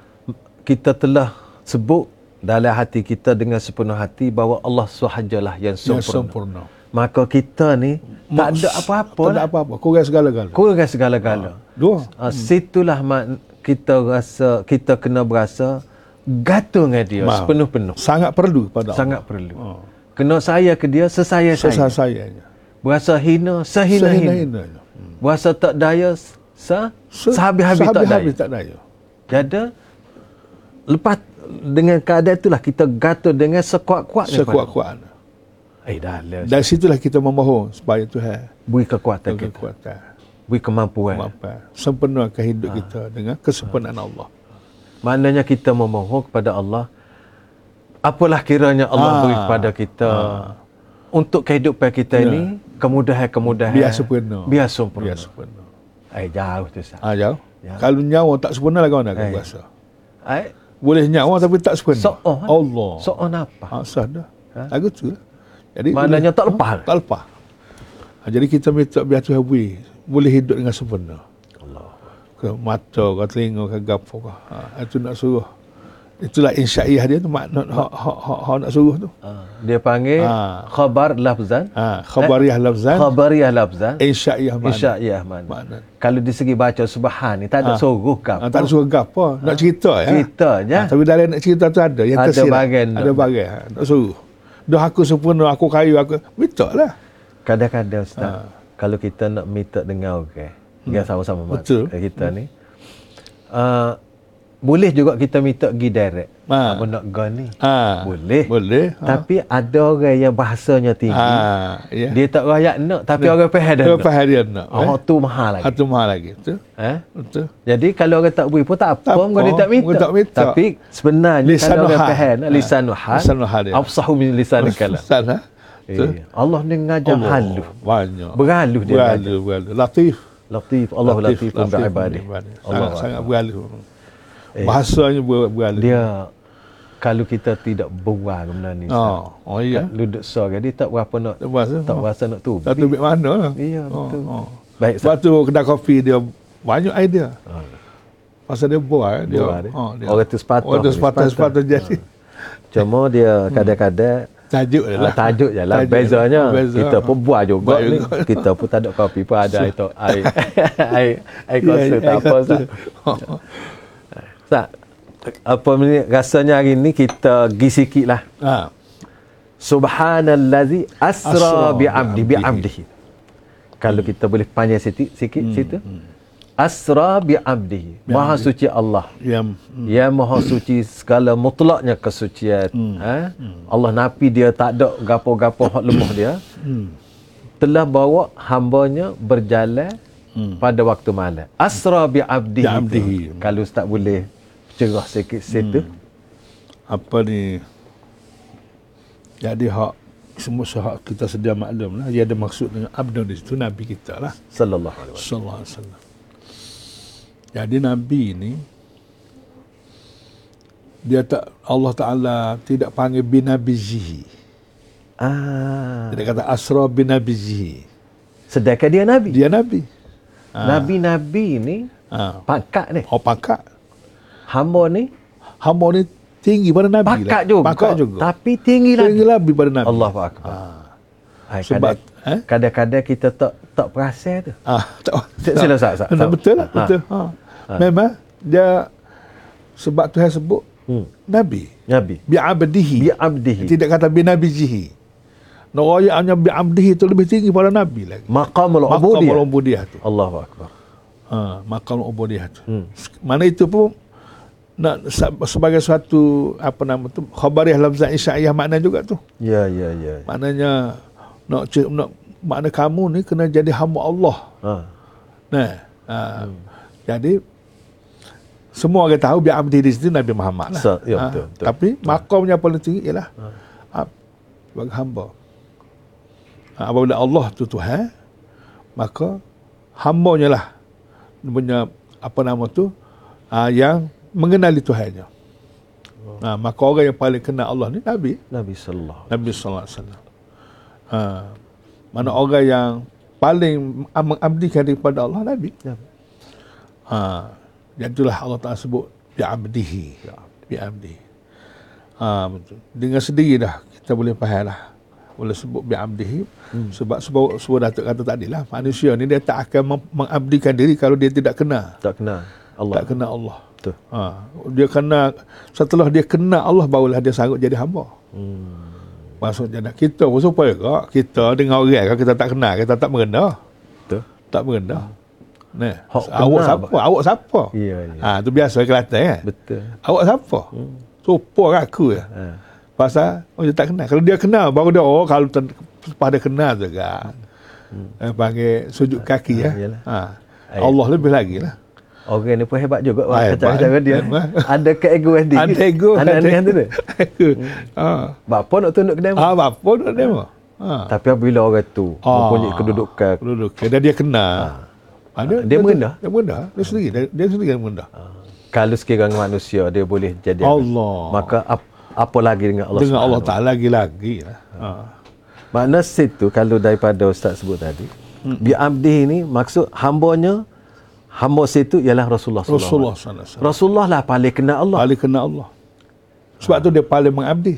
kita telah sebut dalam hati kita dengan sepenuh hati bahawa Allah sahajalah yang Yang sempurna. sempurna. Maka kita ni tak ada apa-apa Tak ada lah. apa-apa. Kurang segala-gala. Kurang segala-gala. Dua. Ha, situlah mak, kita rasa kita kena berasa gantung dengan dia Maaf. sepenuh-penuh. Sangat perlu pada Sangat Allah. perlu. Ha. Kena saya ke dia sesaya saya. Sesayanya. Berasa hina sehina-hina. Sehina-hinanya. Berasa tak daya se, Se- sehabis-habis tak daya. sehabis-habis tak daya. Jadi lepas dengan keadaan itulah kita gantung dengan sekuat-kuatnya. Sekuat-kuat. Eh dah lah. Dari situlah kita memohon supaya Tuhan Beri kekuatan beri kita. kekuatan, Beri kemampuan. kemampuan, sempurnakan hidup kita dengan kesempurnaan Allah. Maknanya kita memohon kepada Allah. Apalah kiranya Allah Ah. beri kepada kita. Untuk kehidupan kita Ya. ini, kemudahan-kemudahan. Biar sempurna. Biar sempurna. Biar sempurna. Eh jauh tu Ustaz. Ah, jauh. Ya. Kalau nyawa tak sempurna lagi mana Eh. kau rasa? Eh, Boleh nyawa tapi tak sempurna. so'oh. Allah. So'oh apa? Ah, sah dah. Ha? Lagu tu lah. Jadi Maknanya boleh- tak lepas. Ha, tak lepas. Ha, jadi kita minta biar Tuhan beri boleh hidup dengan sempurna. Allah. Ke mata, ke telinga, ke gapo ke. Ha, itu nak suruh. Itulah insya'iyah dia tu makna hak hak hak hak nak suruh tu. Ah, dia panggil Ah. khabar lafzan. Ha, khabariyah lafzan, Khabariyah lafzan. insya'iyah makna. Insya'iyah mana. Makna. Kalau di segi baca subhan ni tak ada Ah. suruh ke Ha, apa. tak ada suruh gapo, nak cerita ya. Cerita je. Ha, tapi dalam nak cerita tu ada yang Ada tersirat. bahagian Ada tu. bahagian. Ha, nak suruh. Dah aku sempurna, aku kayu, aku minta lah. Kadang-kadang Ustaz, Ah. kalau kita nak minta dengan orang, yang sama-sama mat- Betul. kita ni, uh, boleh juga kita minta pergi direct. Ah. Apa nak go ni? Ha, Boleh. Boleh. Ha. Tapi ada orang yang bahasanya tinggi. Ha, ya. Dia tak rakyat nak, tapi orang faham dah. Dia nak. faham dia nak. Oh, tu mahal lagi. Satu mahal lagi. Betul. Eh? Betul. Jadi kalau orang tak beri pun tak apa, Tak muka dia apa, tak minta. muka tak minta. Tapi sebenarnya Lisanul kalau orang hal. faham, Ha. lisanul hal, Lisanul hal dia. afsahu min lisanil kalam. Sana. Betul. Eh, Allah ni ngajar Allah, halus. Banyak. Berhalus dia Berhalus, berhalus. Latif. Latif, Allah latif pun latif beribadah. beribadah. Allah Sangat, sangat berhalus. Eh, Bahasanya ber, beralih. dia kalau kita tidak berbual benda ni. Oh, oh iya. Lu duk so dia tak berapa nak Tak berasa. tak berasa nak tu. Tak tahu mana lah. Iya, Oh, betul. oh. Baik, Sebab tu kedai kopi dia banyak idea. Ha. Pasal dia buat dia. Buat dia. Oh, dia. Orang tu sepatah. Orang tu sepatah sepatah jadi. Cuma dia kadang-kadang Tajuk dia Ah, lah. tajuk je lah. Tajuk Bezanya lah. Beza. kita pun buat juga Buat ni. juga. Kita pun tak ada kopi pun ada air to- air air air Ya, kosa ya, tak air apa kosa. Ustaz. Ustaz, apa ni rasanya hari ni kita gi sikit lah. Ha. Subhanallazi asra Asra bi 'abdi bi bi'abdihi. 'abdihi. Kalau kita boleh panjang sikit sikit Hmm, situ. Asra bi 'abdihi. Maha suci Allah. Yang Ya maha suci segala mutlaknya kesucian. Hmm. Ha? Allah napi dia tak ada gapo-gapo hak lemah dia. hmm. Telah bawa hambanya berjalan Hmm. pada waktu malam. Asra bi 'abdihi. Bi 'abdihi. tu. Kalau Ustaz boleh cerah sikit situ. apa ni, jadi hak semua hak kita sedia maklum lah, dia ada maksud dengan abdu di situ Nabi kita lah Sallallahu alaihi wasallam. sallallahu alaihi wasallam. Jadi Nabi ni dia tak, Allah Ta'ala tidak panggil binabizihi, Ah. dia kata asra binabizihi, Sedangkan dia nabi. dia Nabi. Ha. Nabi-nabi ni Ha. pangkat ni. Oh pangkat, Hamba ni hamba ni tinggi pada Nabi pangkat lah. juga. Pangkat juga. Tapi tinggi lagi. Tinggi lebih pada Nabi. Allahu akbar. Ha. Hai, Sebab, kadang- eh? kadang-kadang kita tak tak perasan tu. Ah, tak, Sila, sila, Ustaz, Ustaz. Nah, betul lah, Ha. betul. Ha. Memang dia sebab Tuhan sebut Hmm. Nabi Nabi. bi abdihi. Bi abdihi. Tidak kata bi nabijihi. Narayaannya bi abdihi itu lebih tinggi pada Nabi lagi. Maqamul Maqam ubudiyah. ubudiyah tu. Allahu akbar. Ha, maqam ubudiyah tu. Hmm. Mana itu pun nak sebagai suatu apa nama tu khabariyah lafzah isyaiyah makna juga tu. Ya, ya, ya. Maknanya nak nak makna kamu ni kena jadi hamba Allah. Ha. Nah, ha, hmm. jadi semua orang tahu bi abdi di situ Nabi Muhammad lah. So, ya, Ha, betul, betul. Tapi makamnya paling tinggi ialah ha. sebagai hamba. Ha, apabila Allah tu Tuhan, maka hambanya lah punya apa nama tu ha, yang mengenali Tuhannya. Ha, maka orang yang paling kenal Allah ni Nabi. Nabi sallallahu. Nabi sallallahu alaihi wasallam. Ha, mana orang yang paling mengabdikan kepada Allah Nabi. Ya. Ha, itulah Allah Taala sebut bi abdihi. Bi abdihi. Ha, betul. Dengan sendiri dah kita boleh faham lah. Boleh sebut bi abdihi hmm. sebab sebab sebab Datuk kata tadi lah, manusia ni dia tak akan mengabdikan diri kalau dia tidak kenal. Tak kenal Allah. Tak kenal Allah. Betul. Ha, dia kenal, setelah dia kenal Allah barulah dia sanggup jadi hamba. Hmm. Maksudnya kita pun supaya kak, kita dengan orang kan kita tak kenal, kita tak merendah. Betul. Tak merendah. Nah, Hak awak kenal, siapa? Awak siapa? Ya, ya. Ha, tu biasa Kelantan kan? Betul. Awak siapa? Hmm. Supaya aku ya. Ha. Pasal oh, dia tak kenal. Kalau dia kenal baru dia oh kalau ten, pada kenal juga. Hmm. Eh, panggil sujud kaki Ha, ya. yalah. Ha. Allah lebih lagi lah. Orang ni pun hebat juga. Ah, Wah, hebat. cara dia. Hebat. Ada keegoan dia. Ada ego. Ada ada ni tu dia. Ha. Bapa nak tunduk ke dia. Ah, apa nak demo? Ha. Tapi apabila orang tu Ah. mempunyai kedudukan, Duduk. Dan dia kenal. Ha. Dia, Dia merendah? Dia merendah. Dia sendiri. Dia, dia sendiri yang merendah. kalau sekiranya manusia dia boleh jadi Allah. maka ap, apa lagi dengan Allah Dengan Allah Subhanahu Ta'ala lagi-lagi lah. Ha. Makna situ kalau daripada Ustaz sebut tadi, hmm. bi abdi ini maksud hambanya, hamba situ ialah Rasulullah sallallahu alaihi Rasulullah wasallam. sallallahu alaihi wasallam. Rasulullah lah paling kenal Allah. Paling kenal Allah. Sebab tu dia paling mengabdi.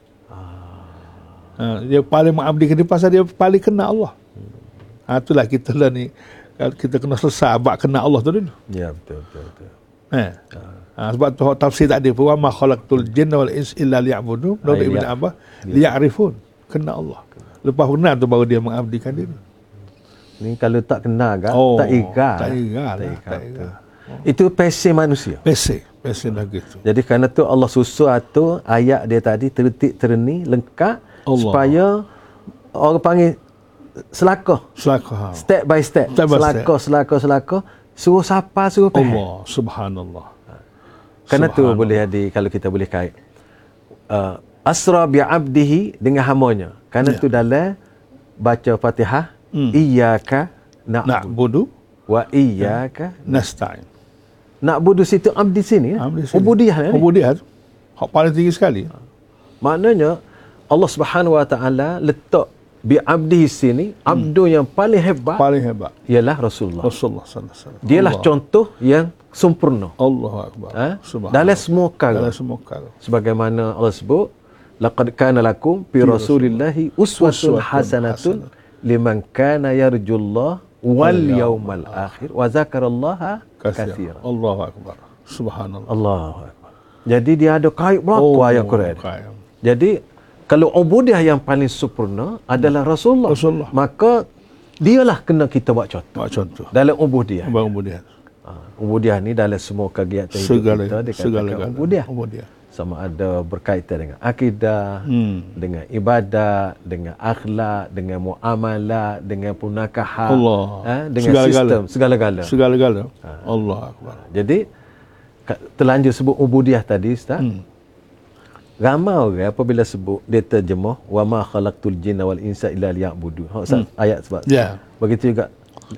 Ha, dia paling mengabdi ke dia pasal dia paling kenal Allah. Ha, itulah kita lah ni kita kena selesai abad kenal Allah tu dulu. Ya, betul betul betul. Ha. Ha, sebab tu tafsir tadi pun wa ma khalaqtul jinna wal ins illa liya'budun. Nabi Ibn Abbas liya'rifun, kenal Allah. Lepas kenal tu baru dia mengabdikan diri. Ni kalau tak kenal kan, Oh, tak ikat. tak ikat lah, Tak ikat. tak ikat. Itu passion manusia. Pesen, pesen lagi tu. Jadi kerana tu Allah susun atur ayat dia tadi tertik terni lengkap Allah. supaya orang panggil selakah. Selakah. Step by step. Step by step. selakah, selakah, selakah. Suruh siapa, suruh faham. Allah, subhanallah. Kerana tu boleh jadi, kalau kita boleh kait. Uh, asra bi abdihi dengan hambanya. Kerana Ya. tu dalam baca Fatihah, Hmm. iyyaka na'budu Na'budu wa iyyaka nasta'in. Nak budu situ abdi sini. Abdi sini. Ubudiyah ni. Ubudiyah tu. Hak paling tinggi sekali. Maknanya Allah Subhanahu Wa Taala letak bi abdi sini, hmm. abdu yang paling hebat. Paling hebat ialah Rasulullah. Rasulullah sallallahu alaihi wasallam. Dialah Allah. Contoh yang sempurna. Allahu akbar. Ha? Dalam semua perkara. Dalam semua perkara. Sebagaimana Allah sebut, laqad kana lakum fi Rasulillahi uswatun hasanatun liman kana yarjullah wal yaumal akhir wa zakarallaha katsira. Allahu akbar. Subhanallah. Allahu akbar. Jadi dia ada kait berlaku oh, ayat Quran. Kait. Jadi kalau ubudiyah yang paling sempurna adalah Rasulullah. Rasulullah. Maka dialah kena kita buat contoh. Buat contoh. Dalam ubudiyah. Dalam ubudiyah. Uh, ubudiyah ni dalam semua kegiatan hidup segala, kita dikatakan segala ubudiyah. ubudiyah. Sama ada berkaitan dengan akidah, hmm. dengan ibadat, dengan akhlak, dengan muamalah, dengan punakaha, eh, dengan segala sistem, segala-gala. Segala-gala. Ha. Allah Akbar. Jadi terlanjur sebut ubudiyah tadi, Ustaz. Hmm. Ramai orang apabila sebut dia terjemah wa ma khalaqtul jinna wal insa illa liya'budun. Ha, hmm. ayat sebab. Yeah. Begitu juga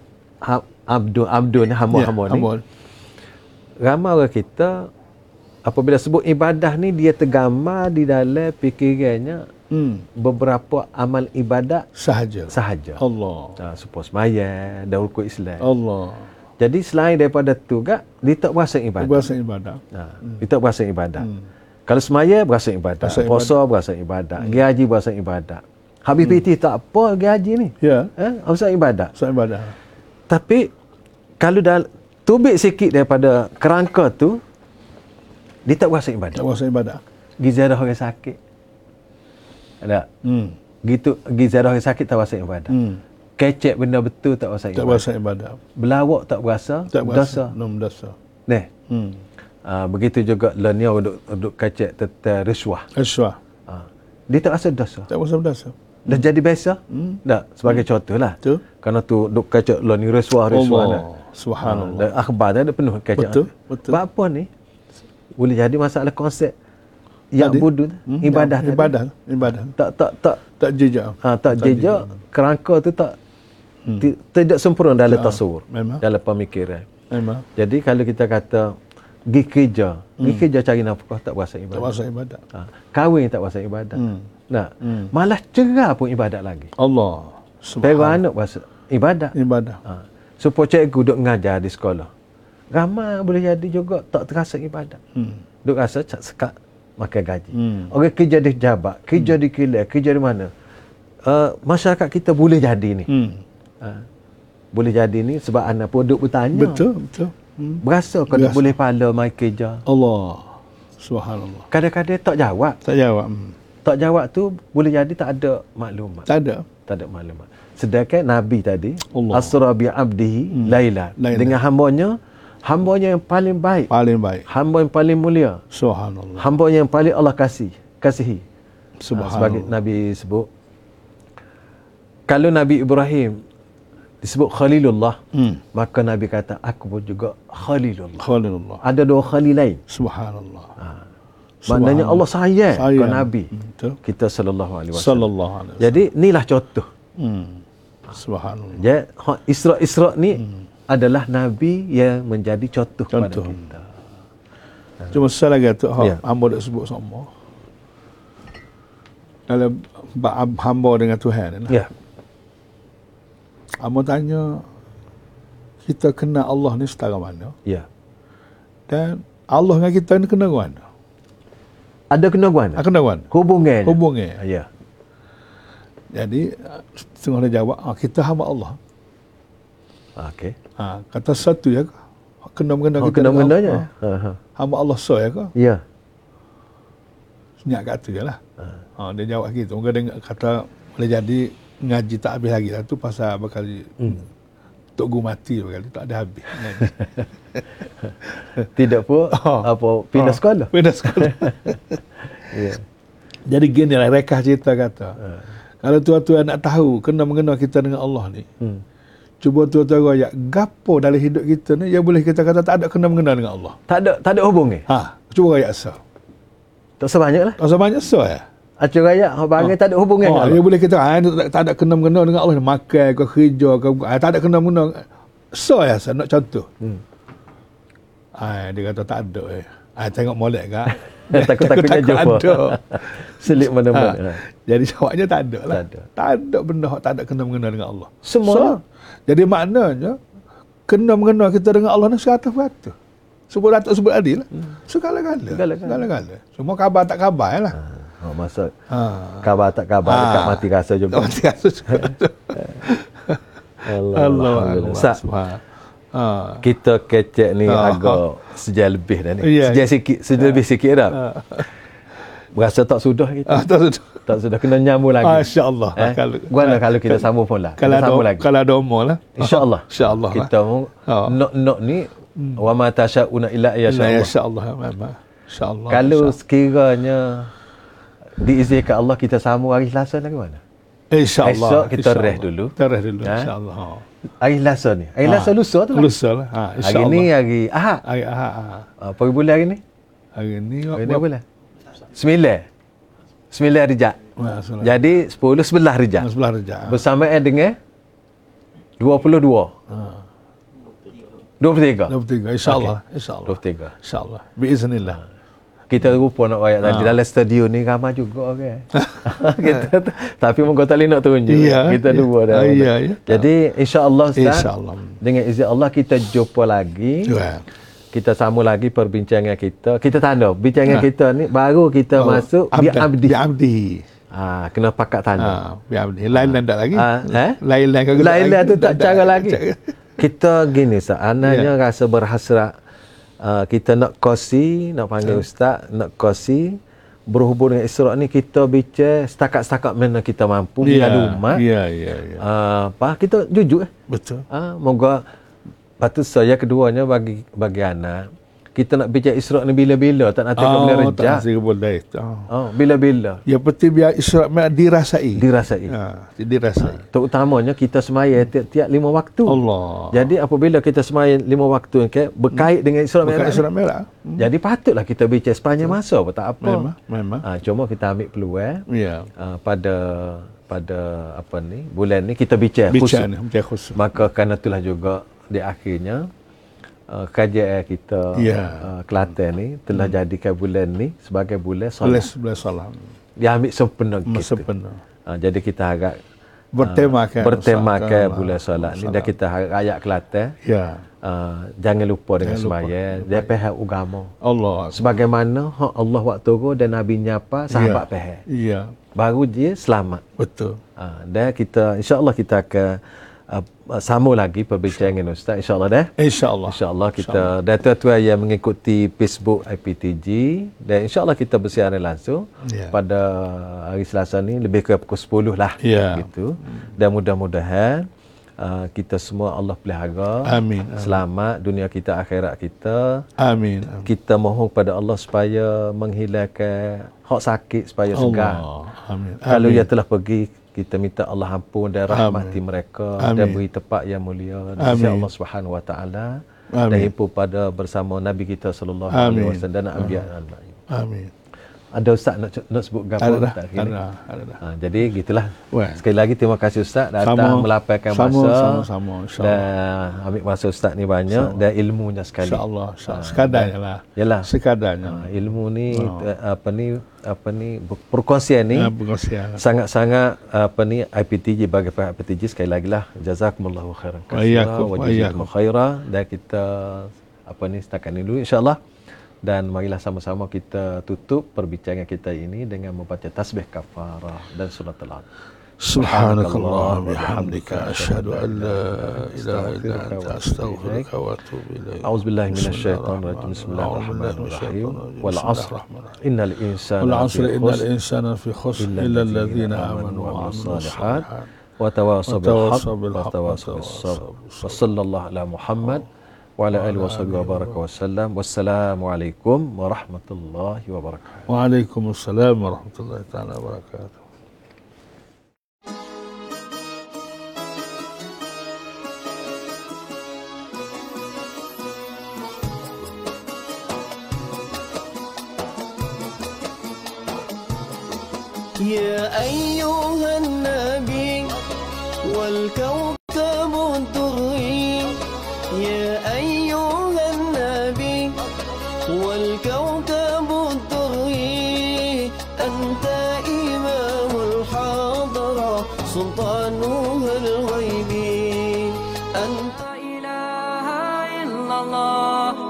abdu abdu ni hamba-hamba yeah, ni. Ramai orang kita apabila sebut ibadah ni dia tergambar di dalam fikirannya hmm. beberapa amal ibadat sahaja. Sahaja. Allah. Ha, supaya sembahyang dan rukuk Islam. Allah. Jadi selain daripada tu gak dia tak berasa ibadah. Berasa ibadah. Ha, hmm. dia tak berasa ibadah. Hmm. Kalau semaya berasa ibadat, puasa berasa ibadat, hmm. gaji berasa ibadat. Habis hmm. P T tak apa gaji ni. Ya. Eh, berasa ibadat. Berasa ibadat. Tapi kalau dah tubik sikit daripada kerangka tu, dia tak berasa ibadat. Tak berasa ibadat. Gizadah orang sakit. Ada. Hmm. Gitu gizadah orang sakit tak berasa ibadat. Hmm. Kecek benda betul tak berasa ibadat. Tak berasa ibadat. Belawak tak berasa tak dosa. Nom dosa. Neh. Hmm. Uh, begitu juga lenia duk duk kacak tentang risuah. Risuah. Uh, dia tak rasa dosa. Tak rasa dosa. Dah hmm. jadi biasa? Hmm. Tak, sebagai hmm. contohlah. Tu. Kerana tu duk kacak lenia risuah risuah dah. Subhanallah. Uh, akhbar dah ada penuh kacak. Betul, betul. Sebab apa ni? Boleh jadi masalah konsep yang budu hmm. ibadah ya, ibadah, ibadah. Tak tak tak tak jejak. Ha, tak, tak jejak kerangka tu tak hmm. t- tidak sempurna dalam ya, tasawur, memang. Dalam pemikiran. Memang. Jadi kalau kita kata pergi kerja, hmm. pergi kerja cari nafkah tak berasa ibadah. Tak berasa ibadah. Ha, kahwin tak berasa ibadah. Hmm. Nah, hmm. malah cerah pun ibadat lagi. Allah. Subhanallah. Anak berasa ibadat. Ibadah. Ha. Supaya cikgu duk mengajar di sekolah. Ramai boleh jadi juga tak terasa ibadat. Hmm. Duk rasa sekat makan gaji. Hmm. Orang kerja di jabat, kerja hmm. di kilang, kerja di mana. Uh, masyarakat kita boleh jadi ni. Hmm. Uh, boleh jadi ni sebab anak pun duk bertanya. Betul, betul. Hmm. Berasa kalau boleh pala mai kerja. Allah. Subhanallah. Kadang-kadang tak jawab. Tak jawab. Hmm. Tak jawab tu boleh jadi tak ada maklumat. Tak ada. Tak ada maklumat. Sedangkan Nabi tadi, Allah. Asra bi abdihi hmm. Laila. Laila. Dengan hambanya, hambanya yang paling baik. Paling baik. Hamba yang paling mulia. Subhanallah. Hamba yang paling Allah kasih, kasihi. Subhanallah. Ha, sebagai Nabi sebut. Kalau Nabi Ibrahim disebut Khalilullah, hmm. maka Nabi kata, aku pun juga Khalilullah. Khalilullah. Ada dua Khalil lain. Subhanallah. Ha. Maknanya Allah sayang, sayang. ke Nabi. Betul. Kita sallallahu alaihi wasallam. Sallallahu alaihi wasallam. Jadi inilah contoh. Hmm. Subhanallah. Jadi Isra-Isra ni hmm. adalah Nabi yang menjadi contoh, contoh. kepada kita. Cuma saya lagi tu, ya. hamba dah sebut sama. Dalam hamba dengan Tuhan. Ya. Hamba tanya, kita kenal Allah ni setara mana? Ya. Dan Allah dengan kita ni kenal mana? Ada kena guan? Ada kena guan. Hubungan. Hubungan. Ya. Jadi setengah dia jawab, ah, kita hamba Allah. Okey. Ha, kata satu ya, kena mengena oh, kita. Kena mengenanya. Ha. Ha. Hamba Allah so ya ke? Ya. Senyap kat tu jelah. Ha. ha dia jawab gitu. Mungkin dia kata boleh jadi ngaji tak habis lagi lah tu pasal bakal hmm. Tok Guru mati bakal tak ada habis. Tidak pun oh. apa pindah oh. sekolah. Pindah sekolah. Ya. Jadi gini lah rekah cerita kata. Ha. Kalau tuan-tuan nak tahu kena mengena kita dengan Allah ni. Hmm. Cuba tuan-tuan royak gapo dalam hidup kita ni yang boleh kita kata tak ada kena mengena dengan Allah. Tak ada tak ada hubungan. Ha, cuba royak so. Tak sebanyaklah. Tak sebanyak so ya. Acur royak hang bagi ha. tak ada hubungan ha, dia boleh kita ha, tak, tak ada kena mengena dengan Allah, makan ke kerja ke ha, tak ada kena mengena. So ya, saya nak contoh. Hmm. Ah, dia kata tak ada eh. Ah, tengok molek kan. Takut-takutnya jumpa. Selip mana-mana. Ha. Jadi jawabnya tak ada lah. Tak ada. Tak ada benda tak ada kena-mengena dengan Allah. Semua. So, jadi maknanya kena-mengena kita dengan Allah ni seratus peratus. Sebut datuk sebut adil lah. Hmm. Segala-gala. Segala-gala. Segala-gala. Semua khabar tak khabar lah. Ha. Oh, maksud Ha. khabar tak khabar Ha. dekat mati rasa juga. Mati rasa juga. Allah. Allah. Ustaz, Ha. kita kecek ni Ha. agak sejam lebih dah ni. Ya, Sejam ya. sikit, sejam lebih sikit dah. Berasa tak sudah kita. Ah, tak sudah. Tak sudah kena nyambung lagi. Ah, InsyaAllah. Eh? Kalau, Gimana kalau kita sambung pun lah. Kalau Kita ada, sambung lagi. kalau ada umur lah. InsyaAllah. InsyaAllah lah. Kita mau Ha. nok-nok ni wa ma tasyauna illa ya InsyaAllah. insyaAllah. InsyaAllah. Memang. InsyaAllah. Kalau insya sekiranya diizinkan Allah kita sambung hari Selasa ni mana? InsyaAllah. Esok kita InsyaAllah. rest dulu. Kita rest dulu. Ha? InsyaAllah. Ha. Hari Selasa ni. Hari Ha. Selasa lusa tu lah. Lusa lah. Ha. Hari InsyaAllah. ni hari Ahad. Hari Ahad. Ha. Apa bulan hari ni? Hari ni. Hari ni apa bulan? Sembilan. Sembilan Rejab. Masalah. Jadi sepuluh sebelah Rejab. Sebelah Rejab. Bersamaan dengan dua puluh dua. dua puluh tiga. dua puluh tiga. InsyaAllah. InsyaAllah. dua puluh tiga. InsyaAllah. Biiznillah. Kita rupa nak rakyat tadi dalam studio ni ramai juga orang. Kita tapi mungkin tak boleh nak tunjuk. Iya, Kita iya. dua dah. Ah, iya, iya. Jadi insya-Allah Ustaz. InsyaAllah. Dengan izin Allah kita jumpa lagi. Ya. Kita sambung lagi perbincangan kita. Kita tanda bincangan kita ni baru kita Oh, masuk bi abdi. Bi abdi. Ah, kena pakat tanda. Ha, bi abdi. Lain-lain tak lagi? Ah, eh? Lain-lain kagak. Lain-lain tu tak cara ada. lagi. Kita gini Ustaz, anaknya rasa berhasrat uh, kita nak kosi, nak panggil ustaz, nak kosi berhubung dengan Isra' ni kita bincang setakat-setakat mana kita mampu Ya, dengan umat. ya, ya, ya. Uh, apa kita jujur eh. Betul. Ah, moga patut saya keduanya bagi bagi anak kita nak bincang Isra' ni bila-bila, tak nak tengok bila Oh, Rejab. tak rasa boleh. Oh. Oh, bila-bila Yang penting biar Isra' dirasai. dirasai. Ha, dirasai. Terutamanya kita semaya tiap-tiap lima waktu. Allah. Jadi apabila kita semaya lima waktu okay, berkait dengan Isra' Bukan Mi'raj. Isra' Mi'raj. Hmm. Jadi patutlah kita bincang sepanjang masa, tak apa. Memang, memang. Ha, cuma kita ambil peluang Ya. uh, pada pada apa ni bulan ni kita bincang khusus. Bicara ni, bicara khusus. Maka kerana itulah juga di akhirnya uh, kajian kita Ya. uh, Kelantan ni telah hmm. jadikan bulan ni sebagai bulan Boleh solat. sebelah salam. Dia ambil sempena kita. Sempena. Uh, jadi kita harap Bertemakan. uh, bertemakan Ustaz. bulan solat ni dan kita harap rakyat Kelantan Ya. uh, jangan lupa dengan Jangan lupa. sembahyang dia pihak agama. Allah. Sebagaimana hak Allah waktu turun dan Nabi nyapa sahabat Ya. pihak. Ya. Baru dia selamat. Betul. Uh, dan kita insya-Allah kita akan uh, sambung lagi perbincangan dengan Ustaz insya-Allah dah. InsyaAllah. InsyaAllah kita dan tuan-tuan yang mengikuti Facebook I P T G dan insyaAllah kita bersiaran langsung Ya. pada hari Selasa ni lebih kurang pukul sepuluh lah Ya. gitu. Dan mudah-mudahan uh, kita semua Allah pelihara. Amin. Selamat dunia kita akhirat kita. Amin. Amin. Kita mohon pada Allah supaya menghilangkan hak sakit supaya segar. Allah. Amin. Kalau Amin. ia telah pergi kita minta Allah ampun dan rahmati Amin. mereka Amin. dan beri tempat yang mulia Amin. insya Allah Subhanahu wa taala dan Amin. himpu pada bersama Nabi kita sallallahu Amin. alaihi wasallam dan anbiya dan lain. Amin. Ada ustaz nak nak sebut gapo Ada dah. tak Ada kini? dah. Ada dah. Ha, jadi gitulah. Wah. Sekali lagi terima kasih ustaz datang Sama. melapangkan Sama, masa. sama-sama, insya-Allah. Dan ambil masa ustaz ni banyak dan ilmunya sekali. InsyaAllah. Insya Sekadarnya lah. Yalah. Sekadarnya. Ha, ilmu ni Oh. eh, apa ni apa ni perkongsian ni Ya, perkongsian. sangat-sangat apa ni I P T G bagi pihak I P T G sekali lagi lah jazakumullahu khairan Wa iyyakum, wa wa jazakum iyyakum. khaira dan kita apa ni setakat ni dulu insyaallah dan marilah sama-sama kita tutup perbincangan kita ini dengan membaca tasbih kafarah dan surat al-Alaq. Subhanakallah bihamdika asyhadu an la ilaha illa anta astaghfiruka wa atubu ilaik. A'udzubillahi minasyaitonir rajim. Bismillahirrahmanirrahim. Wal 'asr innal insana Wal 'asri lafi innal khusr insana fi khusr illa alladhina amanu wa 'amilus shalihat wa tawassaw bil haqq وتواصوا wa بالحق tawassaw bis sabr. وتواصوا Wa sallallahu ala Muhammad wa ala alihi wa sahbihi wa baraka wa sallam. Wassalamu alaikum warahmatullahi wabarakatuh. Waalaikumsalam warahmatullahi taala wabarakatuh. يا أيها النبي والكوكب الدري يا أيها النبي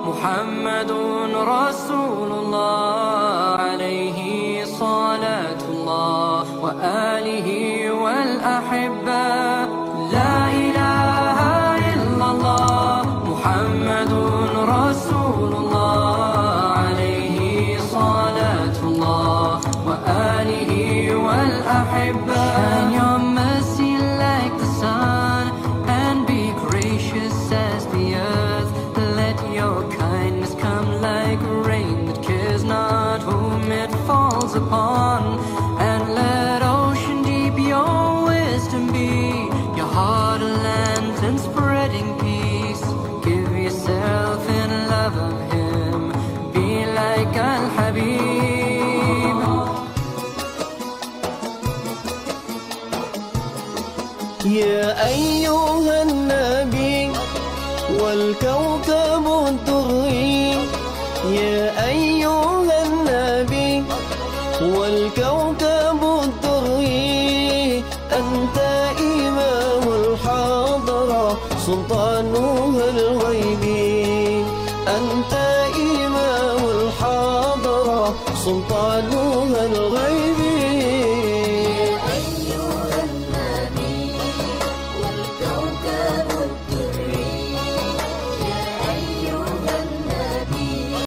محمد رسول الله عليه صلاة الله وآله والأحبة لا إله إلا الله محمد رسول الله عليه صلاة الله وآله والأحبة Shine your mercy like the sun and be gracious as the earth. Let your kindness come like rain that cares not whom it falls upon, and let ocean deep your wisdom be, your heart a lantern spreading peace. Give yourself in love of him, be like Al-Habib. يا أيها النبي والكوكب الدري يا أيها النبي والكوكب الدري أنت إمام الحاضرة سلطانها الغيبي أنت إمام الحاضرة سلطانها